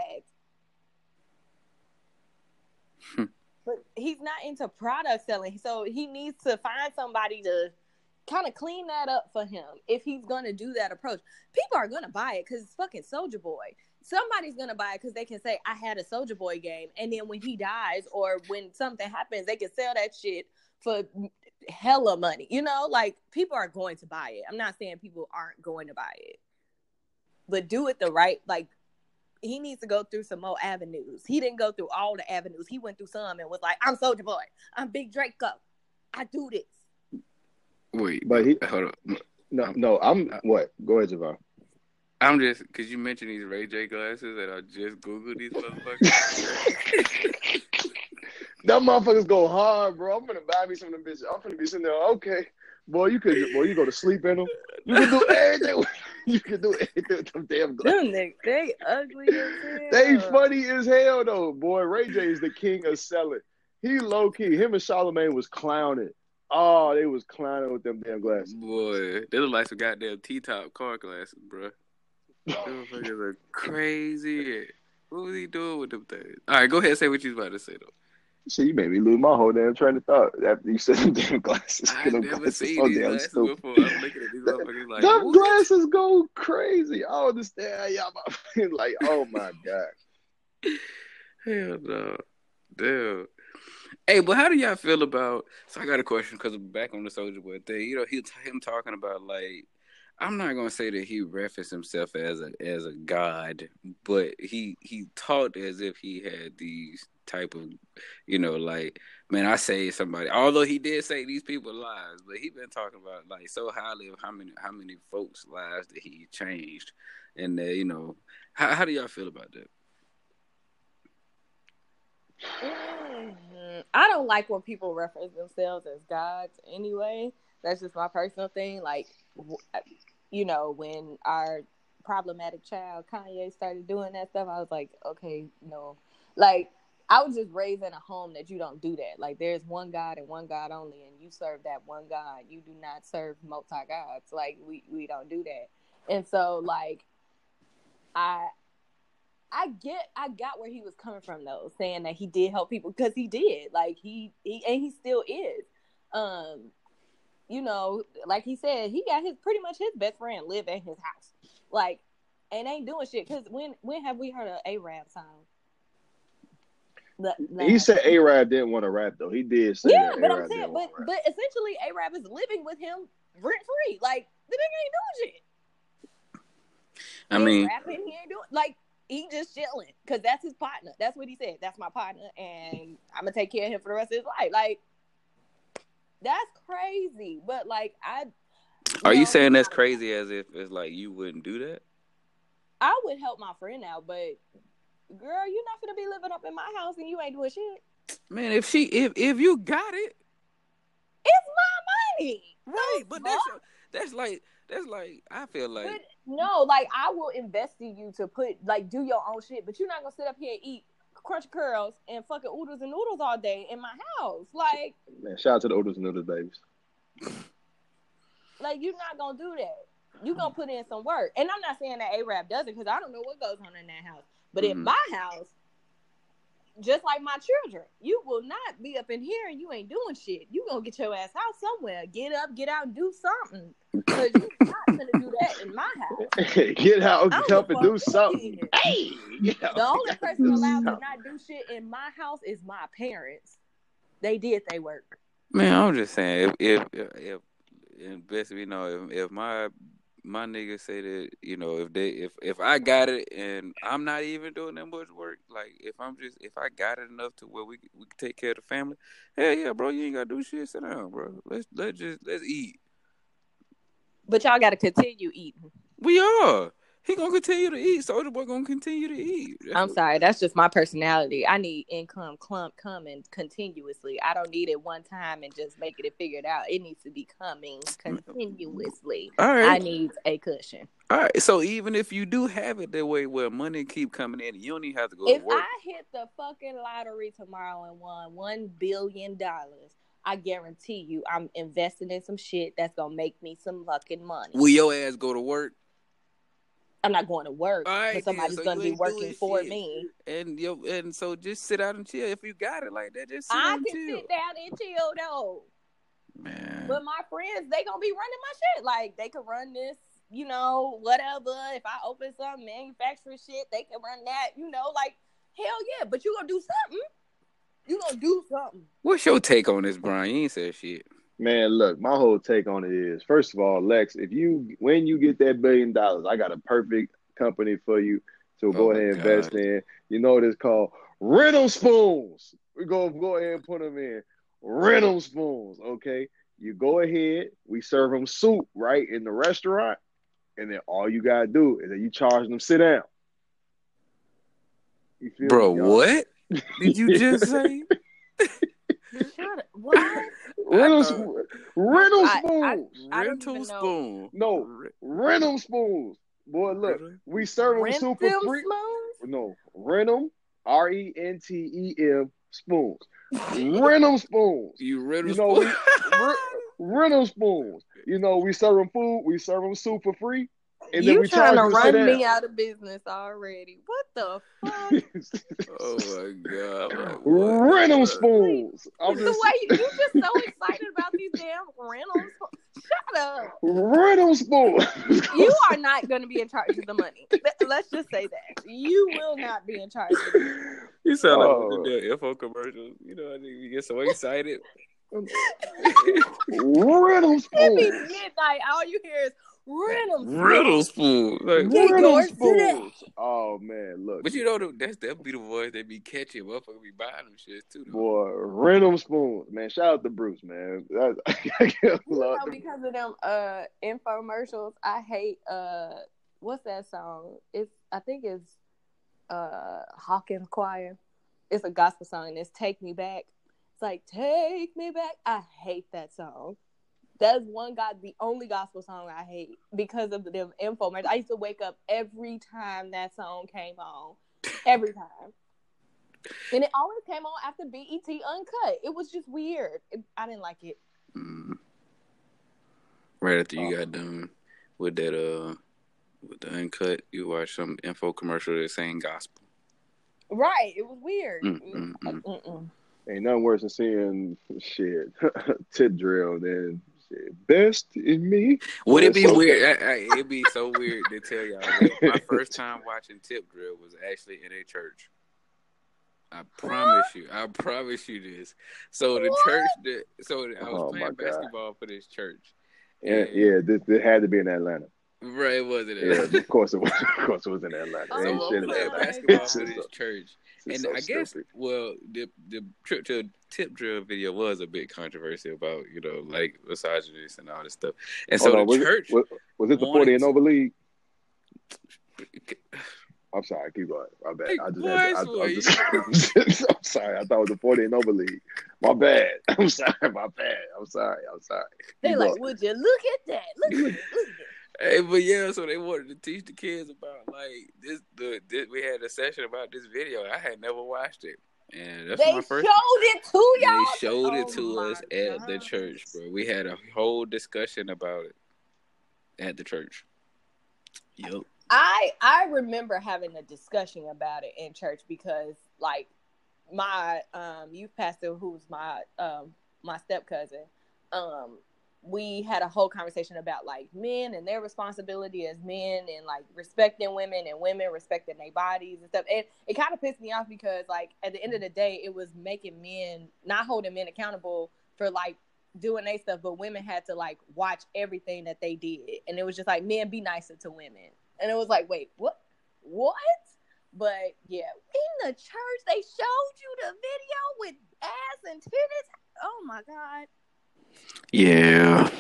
that? But he's not into product selling, so he needs to find somebody to kind of clean that up for him if he's gonna do that approach. People are gonna buy it because it's fucking Soulja Boy. Somebody's gonna buy it because they can say, I had a Soulja Boy game, and then when he dies or when something happens, they can sell that shit for hella money. You know, like, people are going to buy it. I'm not saying people aren't going to buy it, but do it the right, like, he needs to go through some more avenues. He didn't go through all the avenues. He went through some and was like, I'm Soulja Boy. I'm Big Draco. I do this. Wait, but hold on. No, I'm what? Go ahead, Javon. I'm just, because you mentioned these Ray J glasses and I just Googled these motherfuckers. Them motherfuckers go hard, bro. I'm gonna buy me some of them bitches. I'm gonna be sitting there, okay. Boy, you go to sleep in them. You can do everything. You can do anything with them damn glasses. Them niggas, they ugly as hell. They funny as hell, though. Boy, Ray J is the king of selling. He low-key. Him and Charlamagne was clowning. Oh, they was clowning with them damn glasses. Boy, they look like some goddamn T-top car glasses, bro. Those motherfuckers are crazy. What was he doing with them things? All right, go ahead and say what you was about to say, though. Shit, you made me lose my whole damn train of thought after you said them damn glasses. I never seen these glasses before. I'm looking at these motherfuckers like, them glasses go crazy. I understand how y'all like, oh my God. Hell no. Damn. Hey, but how do y'all feel about? So I got a question because back on the Soulja Boy thing, you know, him talking about, like, I'm not gonna say that he referenced himself as a god, but he talked as if he had these type of, you know, like, man, I saved somebody. Although he did say these people's lives, but he been talking about, like, so highly of how many folks' lives that he changed, and you know, how do y'all feel about that? I don't like when people reference themselves as gods anyway. That's just my personal thing. Like, you know, when our problematic child Kanye started doing that stuff, I was like, okay, no. Like, I was just raised in a home that you don't do that. Like, there's one God and one God only, and you serve that one God. You do not serve multi-gods. Like, we don't do that. And so, like, I got where he was coming from, though, saying that he did help people, because he did. Like, he and he still is. You know, like he said, he got pretty much his best friend live at his house, like, and ain't doing shit. Because when have we heard an A-Rap song? He said A-Rap didn't want to rap, though. He did say that. But I'm saying, but essentially, A-Rap is living with him rent free. Like, the nigga ain't doing shit. I mean, rapping, he ain't doing, like, He just chilling because that's his partner. That's what he said. That's my partner, and I'm gonna take care of him for the rest of his life. Like, that's crazy. But like, Are you saying that's crazy as if it's like you wouldn't do that? I would help my friend out, but girl, you're not gonna be living up in my house and you ain't doing shit. Man, if you got it, it's my money. Right, but that's like I feel like but no, like I will invest in you to do your own shit, but you're not gonna sit up here and eat Crunch Curls and fucking oodles and noodles all day in my house. Like, man, shout out to the oodles and noodles babies. Like, you're not gonna do that. You gonna put in some work, and I'm not saying that A-Rap doesn't, because I don't know what goes on in that house. But in my house, just like my children, you will not be up in here and you ain't doing shit. You gonna get your ass out somewhere. Get up, get out, and do something. Because you're not gonna do that in my house. Get out, get up, and do something. Hey, the only person allowed to not do shit in my house is my parents. They did their work. Man, I'm just saying, if best you know, if my niggas say that, you know, if I got it and I'm not even doing that much work, like if I got it enough to where we can take care of the family, hell yeah, bro, you ain't gotta do shit. Sit down, bro. Let's eat. But y'all gotta continue eating. We are. He gonna continue to eat. Soulja Boy gonna continue to eat. I'm sorry, that's just my personality. I need income coming continuously. I don't need it one time and just making it figured out. It needs to be coming continuously. All right. I need a cushion. All right. So even if you do have it that way where money keep coming in, you don't even have to go to work. If I hit the fucking lottery tomorrow and won $1 billion, I guarantee you I'm investing in some shit that's gonna make me some fucking money. Will your ass go to work? I'm not going to work, right, but somebody's going to be working for me. And so just sit out and chill. If you got it like that, just sit I down and can chill. sit down and chill, though. Man. But my friends, they going to be running my shit. Like, they could run this, you know, whatever. If I open some manufacturing shit, they can run that, you know, like, hell yeah. But you going to do something. You going to do something. What's your take on this, Brian? You ain't said shit. Man, look, my whole take on it is, first of all, Lex, when you get that $1 billion, I got a perfect company for you to go ahead and invest in. You know what it's called? Rental spoons. We go ahead and put them in. Rental spoons, okay? You go ahead, we serve them soup, right, in the restaurant, and then all you got to do is that you charge them sit down. You feel Bro, me, what did you just say? Shut up. What? Rental spoons. Rental spoon. No, rental spoons. Boy, look, we serve them super free. Spoons? No, rent them, RENTEM spoons. Rental spoons. You rental spoons? Rental spoons. You know, we serve them food, we serve them soup for free. And you then we trying to run me out of business already. What the fuck? Oh my God. Like, rental spoons. The way you just so excited about these damn rental spoons. Shut up. Rental spoons. You are not going to be in charge of the money. Let's just say that. You will not be in charge of the money. You sound like the info commercials. You know, you get so excited. Rental spoons. It be midnight. All you hear is Rental spoons. Like, rental spoons. Oh man, look. But you know that be the voice they be catching. Motherfucker be buying them shit too. Though. Boy, rental spoons, man. Shout out to Bruce, man. Because of them infomercials, I hate what's that song? I think it's Hawkins Choir. It's a gospel song and it's Take Me Back. It's like, take me back. I hate that song. That's the only gospel song I hate because of them infomercials. I used to wake up every time that song came on. Every time. And it always came on after BET Uncut. It was just weird. I didn't like it. Right after you got done with that, with the Uncut, you watched some info commercial that's saying gospel. Right. It was weird. Ain't nothing worse than seeing shit tip drill than shit. Best in me. Would it be weird? It'd be so weird to tell y'all that my first time watching tip drill was actually in a church. I promise you this. So the church I was playing basketball for this church. Yeah, this had to be in Atlanta. Right, it wasn't Yeah, Atlanta. of course it was. Of course it was in Atlanta. Oh It ain't So shit I'm in playing Atlanta. basketball It's for just this so, church, it's and so I guess stupid. the trip to tip drill video was a bit controversial about like misogynist and all this stuff, and so Hold the on, church was it the 40 wanted and to. over league? I'm sorry, keep going. My bad. Hey, I just boy, had to, I swear I'm you. just I'm sorry. I thought it was the 40 and over league. My bad. I'm sorry. My bad. I'm sorry. They Keep like, going. would you look at that? Look at it. Hey, but yeah, so they wanted to teach the kids about like this. We had a session about this video. I had never watched it, and that's They my first. showed it to They y'all. showed it Oh to my us at the God. church, bro. We had a whole discussion about it at the church. Yep. I remember having a discussion about it in church because like my youth pastor, who's my step cousin, we had a whole conversation about like men and their responsibility as men and like respecting women and women respecting their bodies and stuff. And it kind of pissed me off because like at the end of the day, it was making men, not holding men accountable for like doing their stuff, but women had to like watch everything that they did. And it was just like, men, be nicer to women. And it was like, wait, what? But yeah, in the church, they showed you the video with ass and titties. Oh my God. Yeah.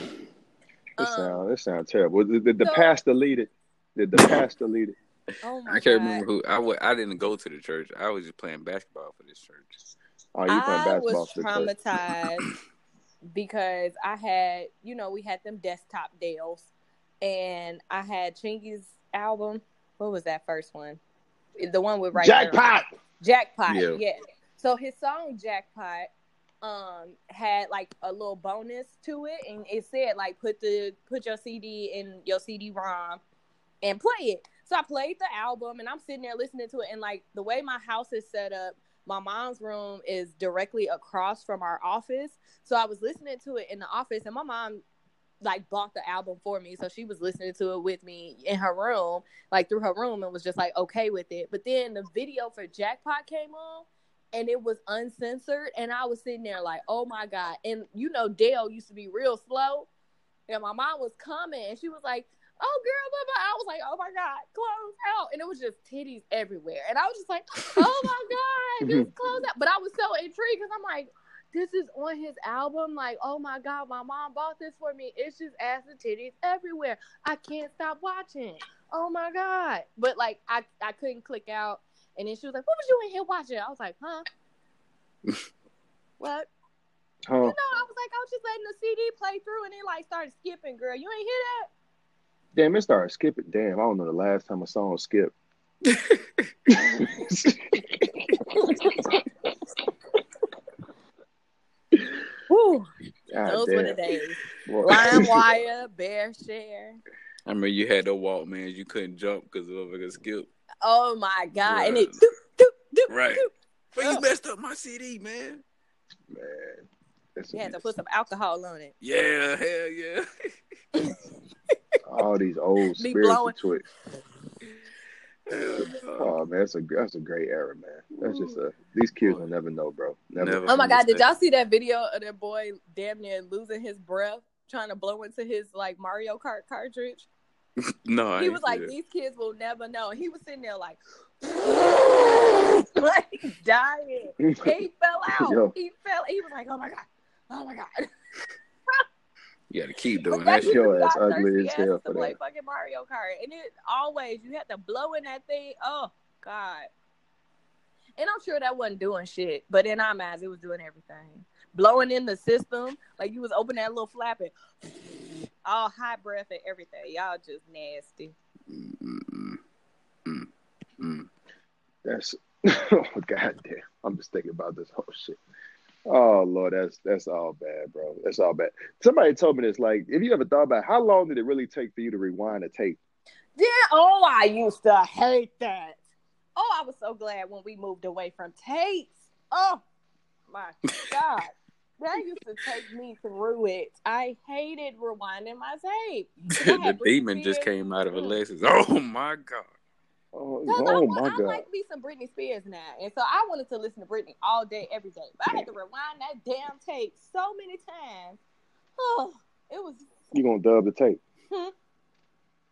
It sounds terrible. Did the pastor lead it? Did the pastor lead it? Oh my I God. can't remember who. I didn't go to the church. I was just playing basketball for this church. Oh, you playing I basketball was for the church? traumatized because I had, we had them desktop deals, and I had Chingy's album. What was that first one? The one with Jackpot. Jackpot. Yeah. Yeah. So his song Jackpot had like a little bonus to it, and it said like put your CD in your CD-ROM and play it. So I played the album, and I'm sitting there listening to it, and like the way my house is set up, my mom's room is directly across from our office. So I was listening to it in the office, and my mom like bought the album for me. So she was listening to it with me in her room, like through her room, and was just like okay with it. But then the video for Jackpot came on, and it was uncensored, and I was sitting there like, oh my God. And Dale used to be real slow, and my mom was coming, and she was like, oh girl, blah, blah. I was like, oh my God, close out. And it was just titties everywhere. And I was just like, oh my God, just close out. But I was so intrigued because I'm like, this is on his album. Like, oh my God, my mom bought this for me. It's just ass and titties everywhere. I can't stop watching. Oh my God. But like, I couldn't click out. And then she was like, what was you in here watching? I was like, huh? What? Huh? I was like, I was just letting the CD play through, and it like started skipping, girl. You ain't hear that? Damn, it started skipping. Damn, I don't know the last time a song skipped. Woo. God Those damn. were the days. Boy. LimeWire, BearShare. I remember you had the Walkmans. You couldn't jump because of a skip. Oh my God! Right. And it doop, doop, doop, Right. doop. But you messed up my CD, man. You had to put some alcohol on it. Yeah, hell yeah. All these old Be spiritual blowing. twits. Oh man, that's a great era, man. That's just these kids will never know, bro. Never. Oh my God! Did y'all see that video of that boy damn near losing his breath trying to blow into his like Mario Kart cartridge? No, he was like, these kids will never know. And he was sitting there like dying. And he fell out. Yo. He was like, oh my God. You got to keep doing that that shit. Yo, that's ugly as hell to for play that. fucking Mario Kart, and it always you had to blow in that thing. Oh God! And I'm sure that wasn't doing shit, but in our minds, it was doing everything. Blowing in the system, like you was opening that little flap and all hot breath and everything. Y'all just nasty. That's oh goddamn. I'm just thinking about this whole shit. Oh Lord, that's all bad, bro. That's all bad. Somebody told me this. Like, if you ever thought about how long did it really take for you to rewind a tape? Yeah. Oh, I used to hate that. Oh, I was so glad when we moved away from tapes. Oh my God. That used to take me through it. I hated rewinding my tape. The demon just came out of Alexis. Oh my God. Oh I my God. like me some Britney Spears now. And so I wanted to listen to Britney all day, every day. But I had to rewind that damn tape so many times. Oh, it was. You gonna dub the tape?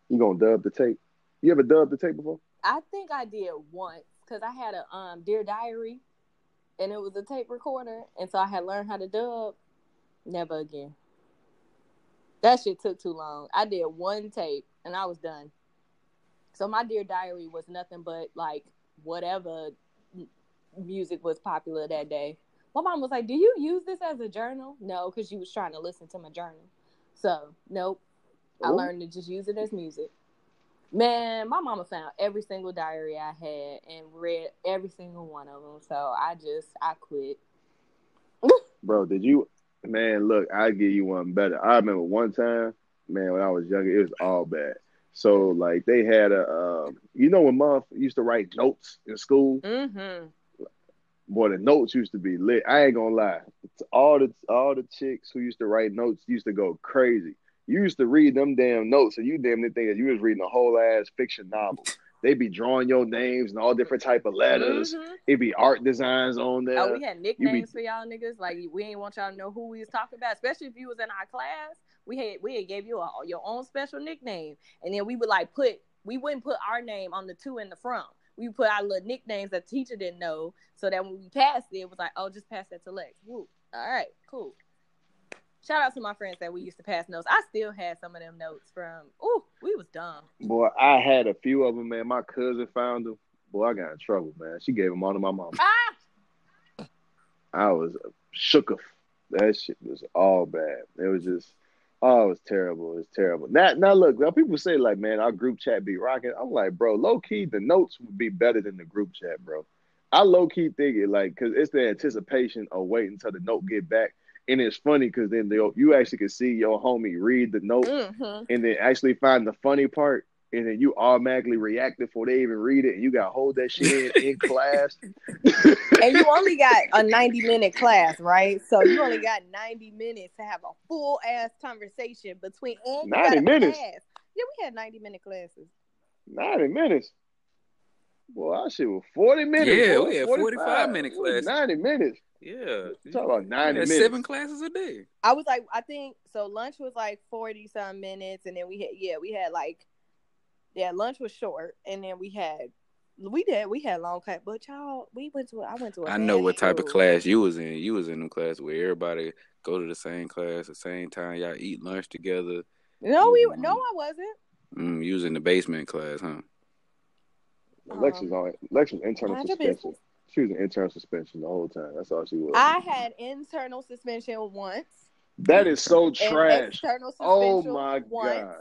You gonna dub the tape? You ever dubbed the tape before? I think I did once because I had a Dear Diary, and it was a tape recorder, and so I had learned how to dub. Never again. That shit took too long. I did one tape, and I was done. So my Dear Diary was nothing but like whatever music was popular that day. My mom was like, "Do you use this as a journal?" No, because she was trying to listen to my journal. So nope. I learned to just use it as music. Man, my mama found every single diary I had and read every single one of them. So I quit. Bro, did you? Man, look, I'll give you one better. I remember one time, man, when I was younger, it was all bad. So, like, they had when mom used to write notes in school? Mm-hmm. Boy, the notes used to be lit. I ain't gonna lie. All the chicks who used to write notes used to go crazy. You used to read them damn notes, and you damn near think that you was reading a whole ass fiction novel. They be drawing your names and all different type of letters. Mm-hmm. It be art designs on there. Oh, we had nicknames for y'all niggas. Like we ain't want y'all to know who we was talking about, especially if you was in our class. We had gave you your own special nickname, and then we would we wouldn't put our name on the two in the front. We put our little nicknames that the teacher didn't know, so that when we passed it was like, oh, just pass that to Lex. Woo. All right, cool. Shout out to my friends that we used to pass notes. I still had some of them notes from, we was dumb. Boy, I had a few of them, man. My cousin found them. Boy, I got in trouble, man. She gave them all to my mama. I was shook of. That shit was all bad. It was just, it was terrible. It was terrible. Now look, people say like, man, our group chat be rocking. I'm like, bro, low key, the notes would be better than the group chat, bro. I low key think it like, cause it's the anticipation of waiting until the note get back. And it's funny because then you actually can see your homie read the note and then actually find the funny part. And then you automatically react before they even read it. And you got to hold that shit in class. And you only got a 90-minute class, right? So you only got 90 minutes to have a full-ass conversation between 90 minutes? Pass. Yeah, we had 90-minute classes. 90 minutes? Boy, our shit was 40 minutes. Yeah, boy, we had 45-minute classes. 90 minutes. Yeah. You talk about 90 minutes. 7 classes a day. I was like, I think, so lunch was like 40-some minutes. And then we had lunch was short. And then we had long class. But y'all, I went to a I know what type of school. class you was in. You was in them class where everybody go to the same class at the same time. Y'all eat lunch together. No, I wasn't. You was in the basement class, huh? Lex was internal suspension. She was in internal suspension the whole time. That's all she was. I had internal suspension once. That is so trash. External suspension. Oh my god.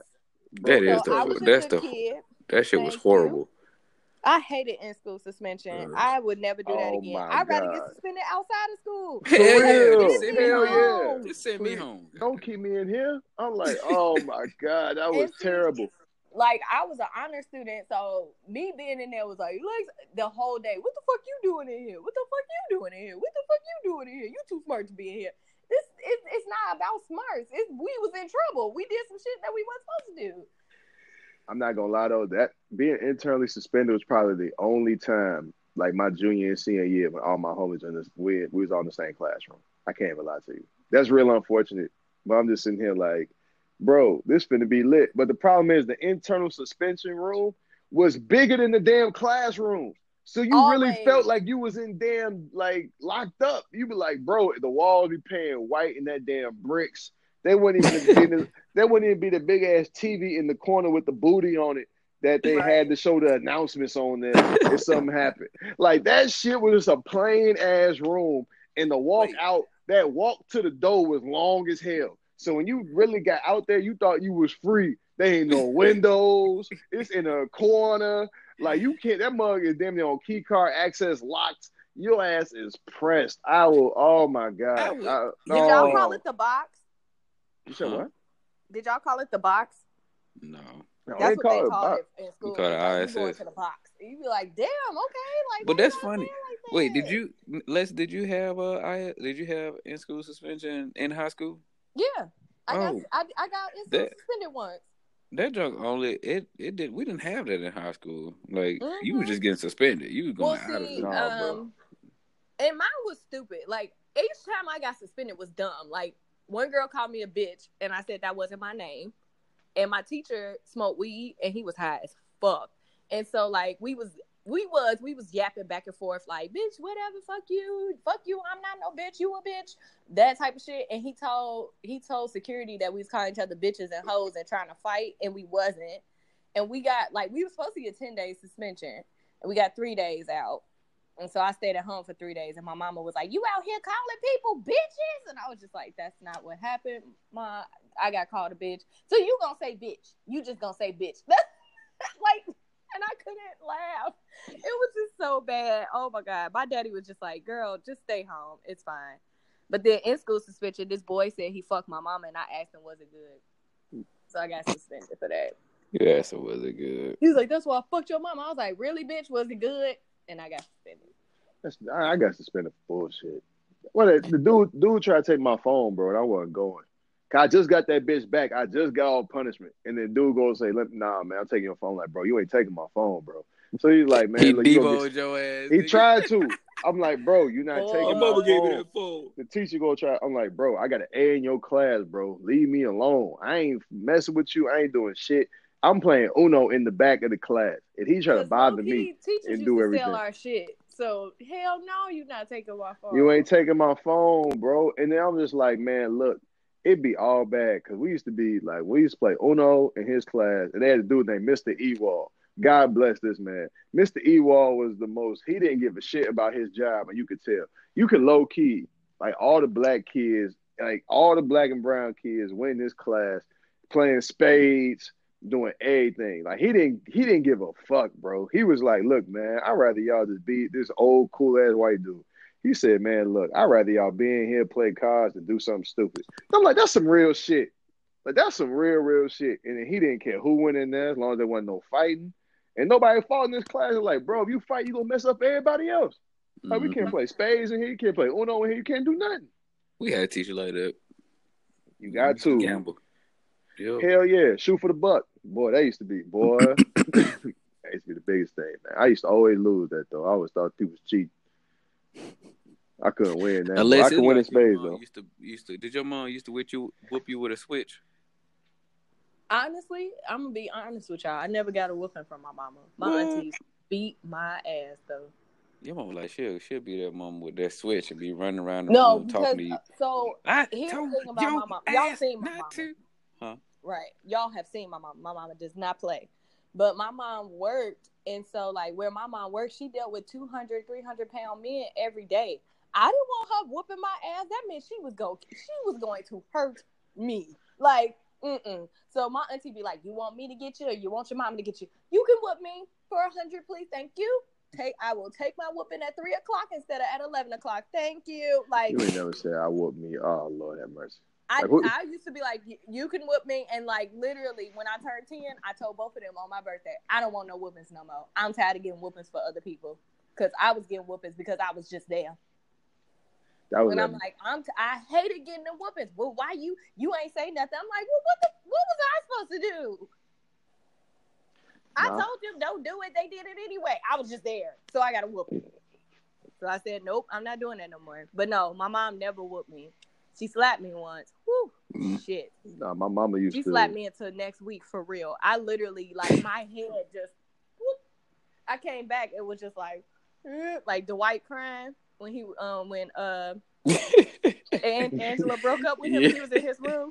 That shit was horrible. I hated in-school suspension. I would never do that again. I'd rather get suspended outside of school. Hell yeah. Just send me home. Don't keep me in here. I'm like, oh my god, that was terrible. Like, I was an honor student, so me being in there was like, the whole day, what the fuck you doing in here? What the fuck you doing in here? What the fuck you doing in here? You too smart to be in here. It's not about smarts. We was in trouble. We did some shit that we weren't supposed to do. I'm not gonna lie though, that being internally suspended was probably the only time, like my junior and senior year, when all my homies we was all in the same classroom. I can't even lie to you. That's real unfortunate. But I'm just sitting here like, bro, this finna be lit. But the problem is the internal suspension room was bigger than the damn classroom. So you really felt like you was in damn, like, locked up. You be like, bro, the walls be paying white in that damn bricks. They wouldn't even be the big ass TV in the corner with the booty on it that they had to show the announcements on there if something happened. Like, that shit was just a plain ass room. And the walk to the door was long as hell. So when you really got out there, you thought you was free. There ain't no windows. It's in a corner. Like, you can't, that mug is damn near on key card access locked. Your ass is pressed. Oh my God. Did y'all call it the box? You said what? Did y'all call it the box? No. That's what they called it in school. We call it ISS. You going to the box. You be like, damn, okay. Like, but that's funny. Like that. Wait, did you have in school suspension in high school? Yeah. I got in school suspended once. That junk only we didn't have that in high school. Like you were just getting suspended. You was going out of it. Bro. And mine was stupid. Like, each time I got suspended was dumb. Like, one girl called me a bitch, and I said that wasn't my name. and my teacher smoked weed, and he was high as fuck. And so like we was yapping back and forth like, bitch, whatever, fuck you, I'm not no bitch, you a bitch, that type of shit. And he told security that we was calling each other bitches and hoes and trying to fight, and we wasn't. And we got like, we were supposed to get 10 days suspension, and we got 3 days out. And so I stayed at home for 3 days, and my mama was like, you out here calling people bitches? And I was just like, that's not what happened, Ma. I got called a bitch. So you gonna say bitch. You just gonna say bitch. Like, and I couldn't laugh. It was just so bad. Oh, my God. My daddy was just like, girl, just stay home. It's fine. But then in school suspension, this boy said he fucked my mama, and I asked him, was it good? So I got suspended for that. Yeah, so was it good? He was like, that's why I fucked your mama. I was like, really, bitch? Was it good? And I got suspended. I got suspended for bullshit. Well, the dude tried to take my phone, bro, and I wasn't going. I just got that bitch back. I just got all punishment. And then dude goes say, nah, man, I'm taking your phone. Like, bro, you ain't taking my phone, bro. So he's like, man, he look, devoted your ass. He tried to. I'm like, bro, you're not taking my phone. Gave me that phone. The teacher gonna try. I'm like, bro, I got an A in your class, bro. Leave me alone. I ain't messing with you. I ain't doing shit. I'm playing Uno in the back of the class, and he trying to bother me and do everything. Sell our shit. So hell no, you not taking my phone. You ain't taking my phone, bro. And then I'm just like, man, look, it'd be all bad because we used to play Uno in his class, and they had a dude named Mr. Ewald. God bless this man. Mr. Ewald was he didn't give a shit about his job, and you could tell. You could low key, like all the black kids, like all the black and brown kids went in this class playing spades, doing everything. Like he didn't give a fuck, bro. He was like, look, man, I'd rather y'all just be this old cool ass white dude. He said, man, look, I'd rather y'all be in here, play cards, than do something stupid. I'm like, that's some real shit. Like, that's some real shit. And then he didn't care who went in there as long as there wasn't no fighting. And nobody fought in this class. Like, bro, if you fight, you gonna mess up everybody else. Like, we can't play spades in here. You can't play Uno in here. You can't do nothing. We had a teacher like that. You got to. Gamble. Yep. Hell yeah. Shoot for the buck. Boy, that used to be, that used to be the biggest thing, man. I used to always lose that, though. I always thought people was cheating. I couldn't win that. I could win in spades, though. Did your mom used to whoop you with a switch? Honestly, I'm going to be honest with y'all. I never got a whooping from my mama. My auntie beat my ass, though. Your mama like she'll be that mom with that switch and be running around the room talking to you. So here's the thing about my mom. Y'all seen my mama. Huh? Right. Y'all have seen my mama. My mama does not play. But my mom worked, and so like where my mom worked, she dealt with 200, 300-pound men every day. I didn't want her whooping my ass. That meant she was going to hurt me. Like, So my auntie be like, you want me to get you, or you want your mama to get you? You can whoop me for 100, please. Thank you. I will take my whooping at 3 o'clock instead of at 11 o'clock. Thank you. Like, you ain't never said I whoop me. Oh Lord have mercy. I used to be like, you can whoop me, and like literally when I turned 10, I told both of them on my birthday, I don't want no whoopings no more. I'm tired of getting whoopings for other people, because I was getting whoopings because I was just there. When I'm like, I hated getting the whoopings. Well, why you ain't say nothing? I'm like, well, what was I supposed to do? I told them don't do it. They did it anyway. I was just there, so I got a whooping. So I said, nope, I'm not doing that no more. But no, my mom never whooped me. She slapped me once. Whew, shit. Nah, my mama used to. She slapped me until next week for real. I literally, like, my head just, whoop. I came back, it was just like Dwight crying when and Angela broke up with him. He was in his room.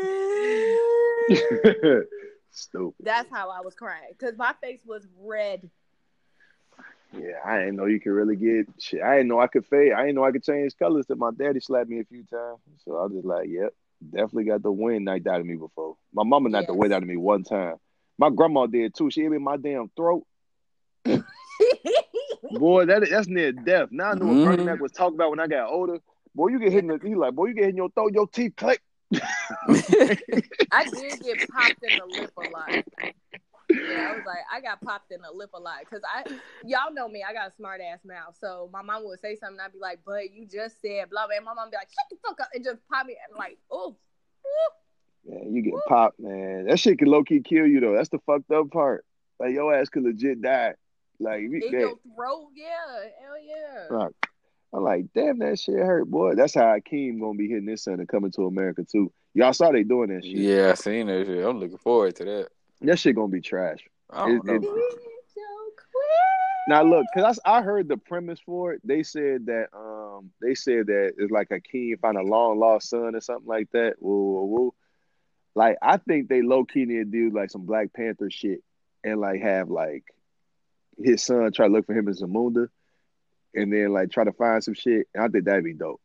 Stupid. That's how I was crying, because my face was red. Yeah, I didn't know you could really get shit. I didn't know I could fade. I didn't know I could change colors. Till my daddy slapped me a few times. So I was just like, yep, definitely got the wind knocked out of me before. My mama knocked the wind out of me one time. My grandma did too. She hit me in my damn throat. Boy, that's near death. Now I know what Bernie Mac was talking about when I got older. Boy, you get hit in the, you get hit in your throat, your teeth click. I did get popped in the lip a lot. Yeah, I was like, I got popped in the lip a lot, because y'all know me, I got a smart ass mouth. So my mom would say something, I'd be like, but you just said blah blah, and my mom would be like, shut the fuck up, and just pop me, and like, oh. Man, you get popped, man. That shit can low key kill you though. That's the fucked up part. Like your ass could legit die. Like in your throat, yeah, hell yeah. Right. I'm like, damn, that shit hurt, boy. That's how Akeem gonna be hitting this son and Coming to America too. Y'all saw they doing that shit. Yeah, I seen that shit. I'm looking forward to that. That shit gonna be trash. I don't know. Now look, cause I heard the premise for it. They said that it's like a king find a long lost son or something like that. Woo, woo, woo. Like I think they low key need to do like some Black Panther shit and like have like his son try to look for him in Zamunda and then like try to find some shit. And I think that'd be dope.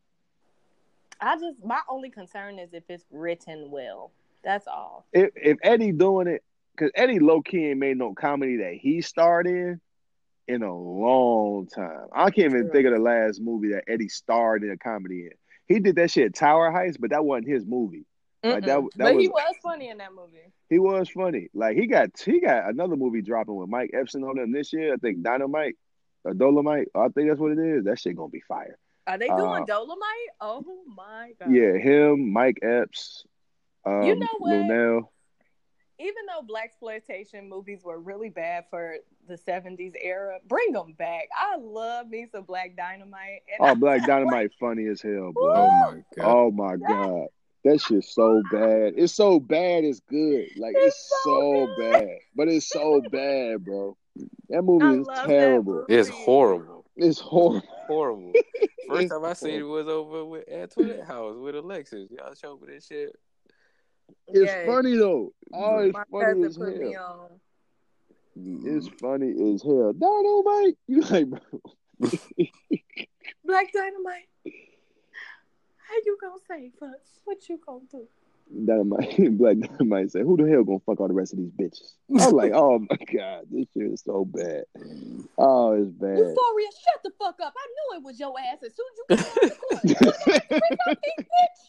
My only concern is if it's written well. That's all. If Eddie doing it, because Eddie low key ain't made no comedy that he starred in a long time. I can't even think of the last movie that Eddie starred in a comedy in. He did that shit at Tower Heights, but that wasn't his movie. Like that but was, he was funny in that movie. He was funny. Like he got another movie dropping with Mike Epps on him this year. I think Dynamite or Dolomite. I think that's what it is. That shit gonna be fire. Are they doing Dolomite? Oh my god. Yeah, him, Mike Epps, you know what? Lunel. Even though blaxploitation movies were really bad for the 70s era, bring them back. I love me some Black Dynamite. And Black Dynamite funny as hell, bro. Oh my god. Oh my god. That shit's so bad. It's so bad it's good. Like it's so bad. But it's so bad, bro. That movie is terrible. It's horrible. It's horrible. Horrible. First time I seen it was over at Twitter House with Alexis. Y'all showed me that shit. It's funny though. Oh, it's my funny as put me hell. on. It's funny as hell. Dynamite. You like, bro. Black Dynamite. How you gonna save us? What you gonna do? Black Dynamite said, "Who the hell gonna fuck all the rest of these bitches?" I was like, "Oh my god, this shit is so bad. Oh, it's bad." Euphoria, shut the fuck up! I knew it was your ass as soon as you got on the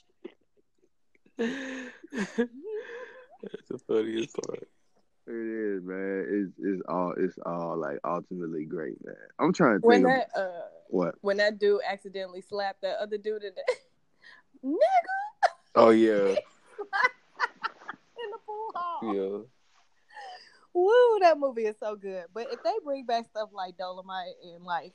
court. That's the funniest part. It is, man. It's all like ultimately great, man. I'm trying to think what when that dude accidentally slapped that other dude in the nigga. Oh yeah. In the pool hall. Yeah. Woo, that movie is so good. But if they bring back stuff like Dolomite and like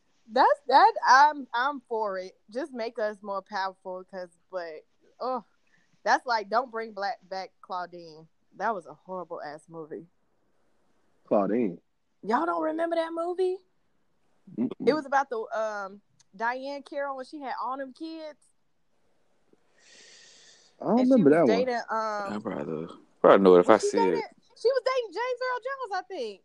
I'm for it. Just make us more powerful that's like don't bring back Claudine. That was a horrible ass movie. Claudine. Y'all don't remember that movie? Mm-mm. It was about the Diane Carroll when she had all them kids. I don't remember that dating, one. I probably know it if I see it. She was dating James Earl Jones, I think.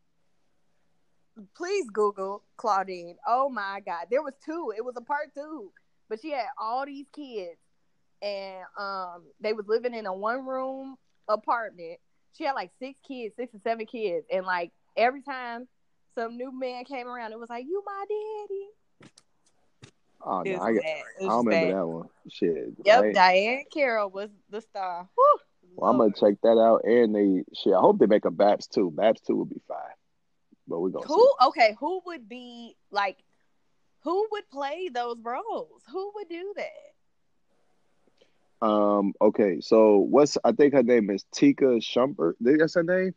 Please Google Claudine. Oh my God. There was 2. It was a part 2. But she had all these kids. And they was living in a 1-room apartment. She had like 6 or 7 kids. And like every time some new man came around, it was like, "You my daddy." Oh, no, I don't remember that one. Shit. Yep, Diane Carroll was the star. Whew, well, I'm gonna check that out. And I hope they make a Babs 2. Babs 2 would be fine. But we're gonna see. Okay, who would be like? Who would play those roles? Who would do that? Okay, so I think her name is Tika Shumpert. That's her name?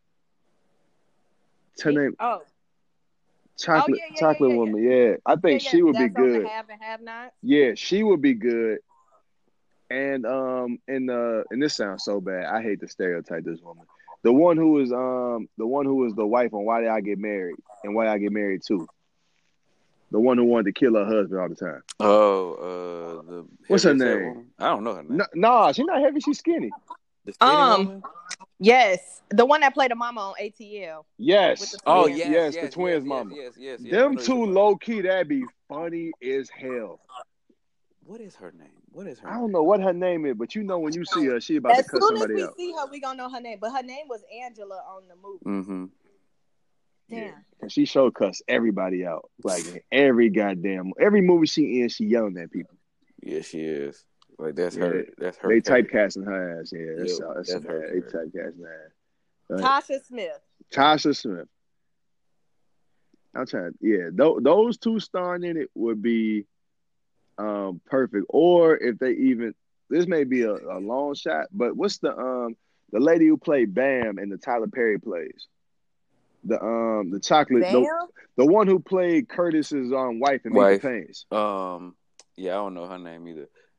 Her name. Oh. Chocolate Woman, yeah. I think she would be good. Have and have not. Yeah, she would be good. And and this sounds so bad. I hate to stereotype this woman. The one who was the wife on Why Did I Get Married and Why Did I Get Married Too. The one who wanted to kill her husband all the time. Oh, what's her name? I don't know her name. Nah, she's not heavy. She's skinny. The skinny woman? Yes, the one that played the mama on ATL. Yes. Yes, the twins' mama. Yes. Them two low key, that'd be funny as hell. What is her name? I don't know what her name is, but you know when you see her, she about to cut somebody out. As soon as we see her, we gonna know her name. But her name was Angela on the movie. Mm-hmm. Damn. Yeah. And she showed cuss everybody out. Like every movie she in, she yelling at people. Yeah, she is. Like that's her. That's her. They typecasting her ass. Yeah, that's her. They typecasting her ass. Tasha Smith. I'm trying. Yeah, those two starring in it would be perfect. Or if they even, this may be a long shot, but what's the lady who played Bam and the Tyler Perry plays? The chocolate, the one who played Curtis's wife in Major Pains. Yeah, I don't know her name either.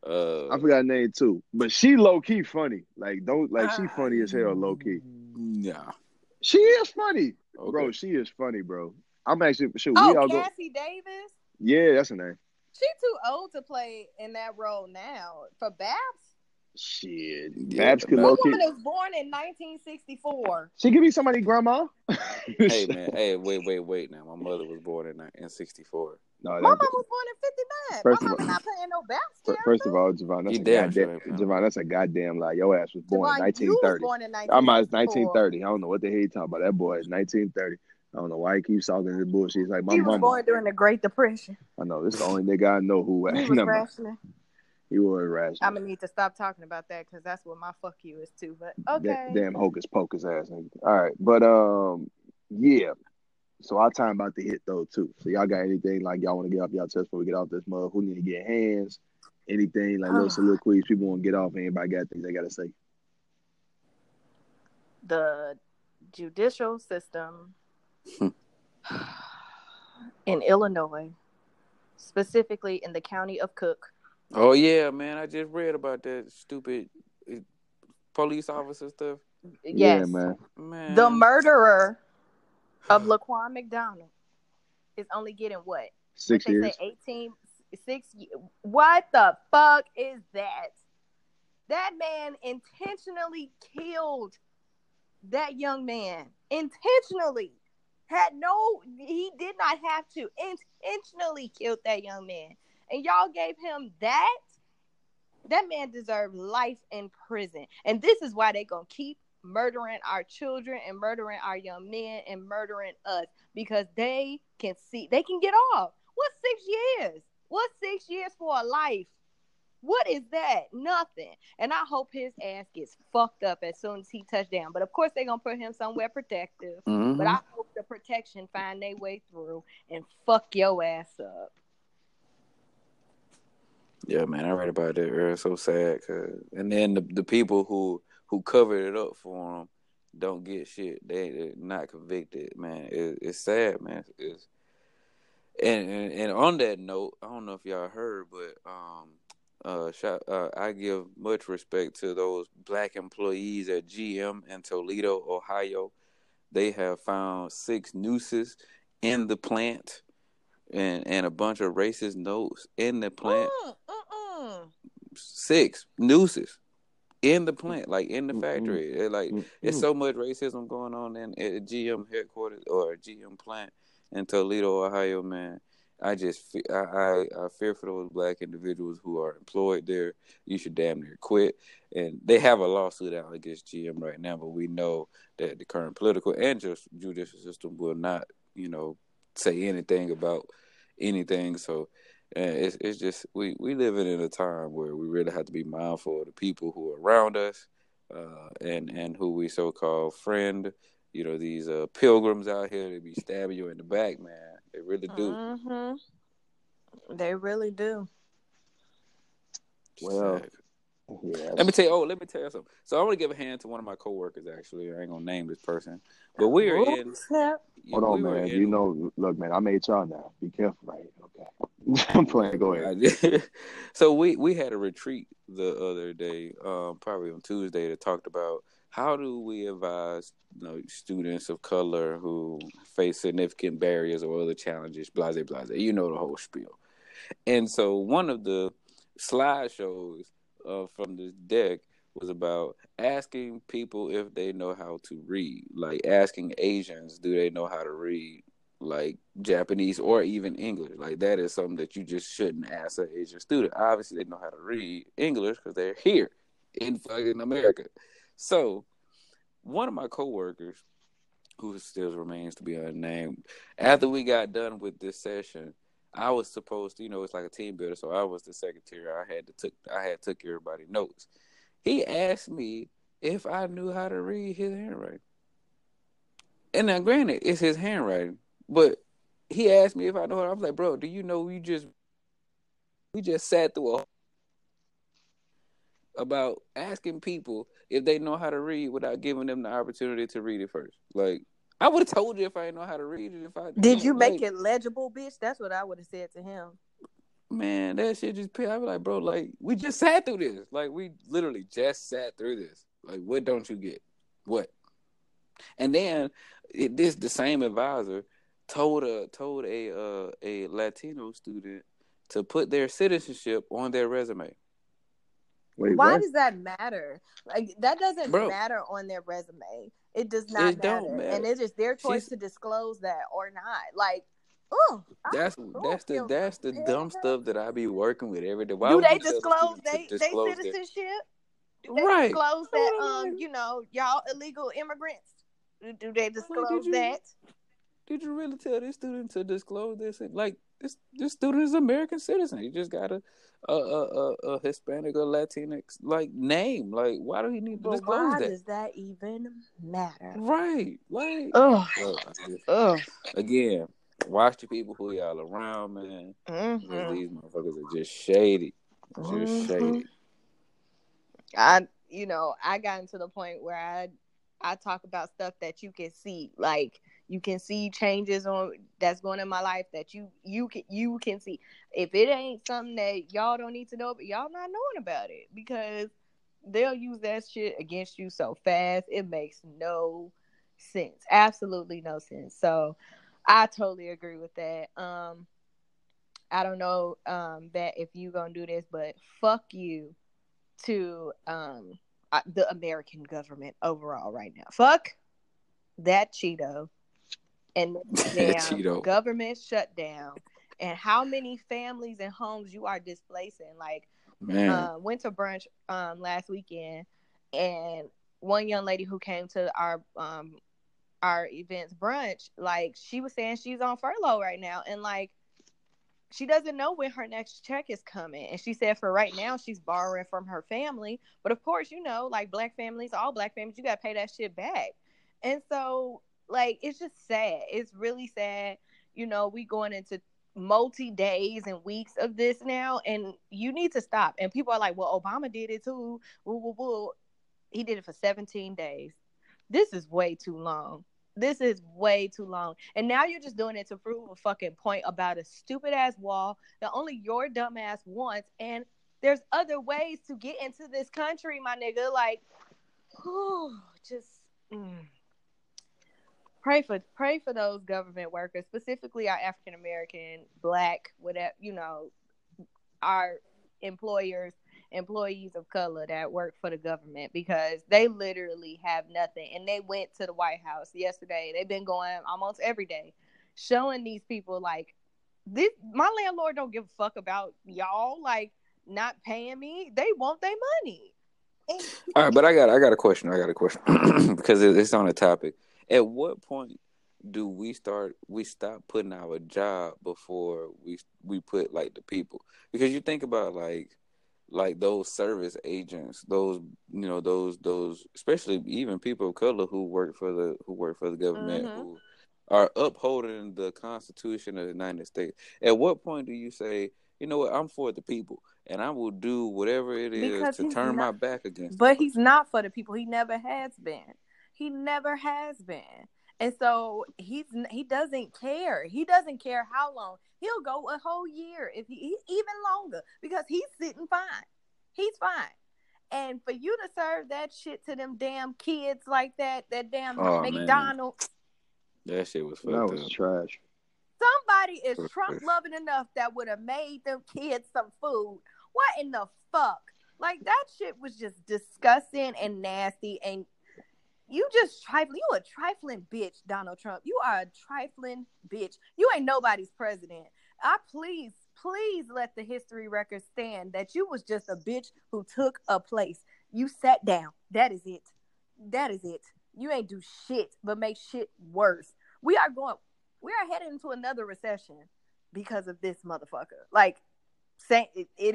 I forgot her name too, but she low key funny. Like she funny as hell, low key. Nah. She is funny, Okay. bro. She is funny, bro. I'm actually sure Oh, we all go. Cassie Davis. Yeah, that's her name. She too old to play in that role now. For Babs? Shit, Yeah, Babs could Babs. low That key. woman was born in 1964. She could be somebody's grandma. Hey man, hey, wait. Now, my mother was born in '64. No, My that, mom was born in 59. First My of mama all- not playing no Babs character. first of all, Javon, that's You a damn goddamn sure ain't playing Javon. That's a goddamn lie. Your ass was born in Javon, you was 1930. born in I'm 1964. 1930. I don't know what the hell you talking about. That boy is 1930. I don't know why he keeps talking this bullshit. He's like my He was mama. born during the Great Depression. I know this is the only nigga I know who. He was Never mind. rationing. He was rational. I'm gonna need to stop talking about that because that's what my fuck you is too. But okay. Damn hocus pocus ass nigga. All right, but yeah. So our time about to hit though too. So y'all got anything like y'all want to get off y'all chest before we get off this mug? Who need to get hands? Anything like little soliloquies people want to get off? Anybody got things they gotta say? The judicial system in Illinois, specifically in the county of Cook. Oh yeah, man! I just read about that stupid police officer stuff. Yes, Yeah, man. The murderer of Laquan McDonald is only getting what? 6 What they years. say 18, 6 years. What the fuck is that? That man intentionally killed that young man. Intentionally. He did not have to. Intentionally killed that young man. And y'all gave him that? That man deserved life in prison. And this is why they gonna keep murdering our children and murdering our young men and murdering us, because they can get off. What's 6 years? What's 6 years for a life? What is that? Nothing. And I hope his ass gets fucked up as soon as he touched down. But of course they're gonna put him somewhere protective. Mm-hmm. But I hope the protection find their way through and fuck your ass up. Yeah, man, I read about that earlier. So sad, and then the people who covered it up for them don't get shit. They're not convicted, man. It's sad, man. And on that note, I don't know if y'all heard, but I give much respect to those black employees at GM in Toledo, Ohio. They have found 6 nooses in the plant. And a bunch of racist notes in the plant. 6 nooses in the plant, like in the factory. It's so much racism going on at GM headquarters or GM plant in Toledo, Ohio, man. I fear for those black individuals who are employed there. You should damn near quit. And they have a lawsuit out against GM right now, but we know that the current political and just judicial system will not, say anything about anything. So it's just we living in a time where we really have to be mindful of the people who are around us and who we so-called friend. These pilgrims out here, they be stabbing you in the back, man. They really do. Mm-hmm. They really do. Well, yeah. Let me tell you something. So I want to give a hand to one of my coworkers. Actually, I ain't gonna name this person, but we are in. Hold on, man. Look, man. I made y'all now. Be careful, right? Okay. I'm playing. Go ahead. So we had a retreat the other day, probably on Tuesday, that talked about how do we advise students of color who face significant barriers or other challenges, blase. The whole spiel. And so one of the slideshows from this deck was about asking people if they know how to read, like asking Asians, do they know how to read, like Japanese or even English? Like that is something that you just shouldn't ask an Asian student. Obviously, they know how to read English because they're here in fucking America. So one of my coworkers, who still remains to be unnamed, after we got done with this session, I was supposed to, it's like a team builder, so I was the secretary. I had took everybody notes. He asked me if I knew how to read his handwriting. And now, granted, it's his handwriting, but he asked me if I know how. I was like, bro, do you know we just sat through about asking people if they know how to read without giving them the opportunity to read it first. Like, I would have told you if I didn't know how to read it. Did you make it legible, bitch? That's what I would have said to him. Man, that shit just I be like, bro, like we just sat through this. Like we literally just sat through this. Like, what don't you get? What? And then the same advisor told a Latino student to put their citizenship on their resume. Wait, why what? does that matter? Like, that doesn't Bro, matter on their resume. It does not it matter. don't matter. And it's just their choice She's to disclose that or not. Like, that's the dumb stuff that I be working with every day. Why do would they you tell the disclose student to they disclose their citizenship? Do they right? disclose That's that what I'm like. y'all illegal immigrants? Do they disclose that? Did you really tell this student to disclose this? Like this student is an American citizen. He just got a Hispanic or Latinx like name. Like, why do he need to disclose why that? does that even matter? Right. Like, again, watch the people who y'all around, man. Because these motherfuckers are just shady. Just shady. I got into the point where I talk about stuff that you can see. Like, you can see changes that's going in my life that you can see. If it ain't something that y'all don't need to know, but y'all not knowing about it, because they'll use that shit against you so fast. It makes no sense. Absolutely no sense. So I totally agree with that. I don't know that if you gonna do this, but fuck you to the American government overall right now. Fuck that Cheeto and damn Cheeto. government shutdown, and how many families and homes you are displacing. Like, man, went to brunch last weekend, and one young lady who came to our events brunch, like, she was saying she's on furlough right now, and like, she doesn't know when her next check is coming. And she said for right now, she's borrowing from her family. But of course, like black families, all black families, you got to pay that shit back. And so, like, it's just sad. It's really sad. We going into multi-days and weeks of this now, and you need to stop. And people are like, well, Obama did it too. He did it for 17 days. This is way too long. This is way too long. And now you're just doing it to prove a fucking point about a stupid ass wall that only your dumb ass wants. And there's other ways to get into this country, my nigga. Like, just pray for those government workers, specifically our African American, black, whatever, our employees of color that work for the government, because they literally have nothing. And they went to the White House yesterday. They've been going almost every day, showing these people like, this, my landlord don't give a fuck about y'all, like, not paying me. They want their money. All right, but I got a question. Because it's on the topic. At what point do we stop putting our job before we put like the people? Because you think about like those service agents, those especially even people of color who work for the government, who are upholding the Constitution of the United States. At what point do you say, you know what, I'm for the people, and I will do whatever it is to turn my back against But he's not for the people. He never has been. And so he doesn't care. He doesn't care how long. He'll go a whole year, if he even longer, because he's sitting fine. He's fine. And for you to serve that shit to them damn kids like that damn McDonald's. That shit was fucked up. That was trash. Somebody is Trump loving enough that would have made them kids some food. What in the fuck? Like, that shit was just disgusting and nasty, and you just trifling. You a trifling bitch, Donald Trump. You are a trifling bitch. You ain't nobody's president. Please let the history record stand that you was just a bitch who took a place. You sat down. That is it. You ain't do shit but make shit worse. We are headed into another recession because of this motherfucker. Like, saying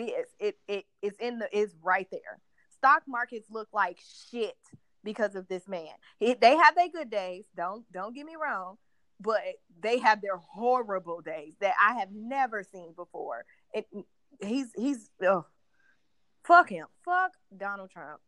it's right there. Stock markets look like shit because of this man. They have their good days. Don't get me wrong, but they have their horrible days that I have never seen before. He's fuck him. Fuck Donald Trump.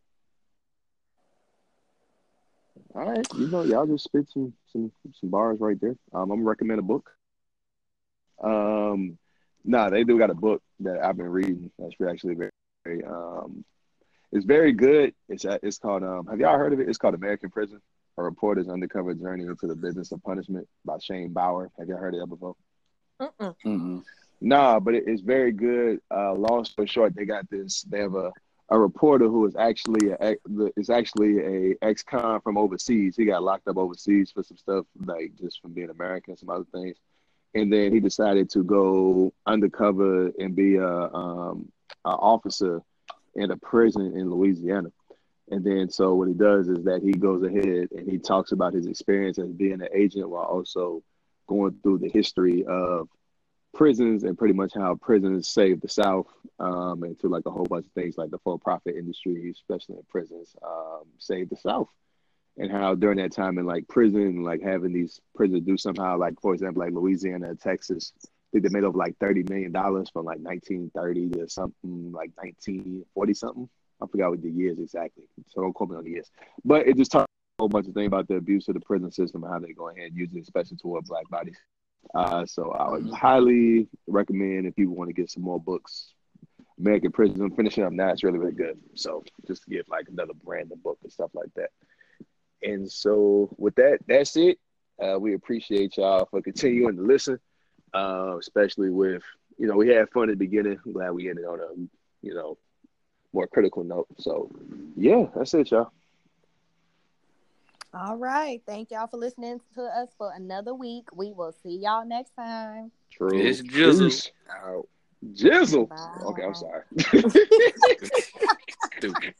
All right, y'all just spit some bars right there. I'm gonna recommend a book. They do got a book. that I've been reading. That's actually very it's very good. It's called have y'all heard of it? It's called American Prison: A Reporter's Undercover Journey into the Business of Punishment by Shane Bauer. Have y'all heard of that before? Mm-mm. Nah, but it's very good. Long story short, they got this. They have a reporter who is actually a ex-con from overseas. He got locked up overseas for some stuff, like just from being American, some other things. And then he decided to go undercover and be a officer in a prison in Louisiana. And then so what he does is that he goes ahead and he talks about his experience as being an agent while also going through the history of prisons and pretty much how prisons saved the South, and to like a whole bunch of things like the for-profit industry, especially in prisons, saved the South. And how during that time in like prison, like having these prisons do somehow, like for example, like Louisiana and Texas, I think they made over like $30 million from like 1930 to something like 1940 something. I forgot what the years exactly, so don't quote me on the years. But it just talks a whole bunch of things about the abuse of the prison system and how they go ahead and use it, especially toward Black bodies. So I would highly recommend if people want to get some more books. American Prison, I'm finishing up now. It's really, really good. So just to get like another random book and stuff like that. And so with that, that's it. We appreciate y'all for continuing to listen, especially with, we had fun at the beginning. I'm glad we ended on a, more critical note. So yeah, that's it, y'all. All right. Thank y'all for listening to us for another week. We will see y'all next time. True. It's Jizzle. Peace out. Jizzle. Bye. Okay, I'm sorry. Stupid.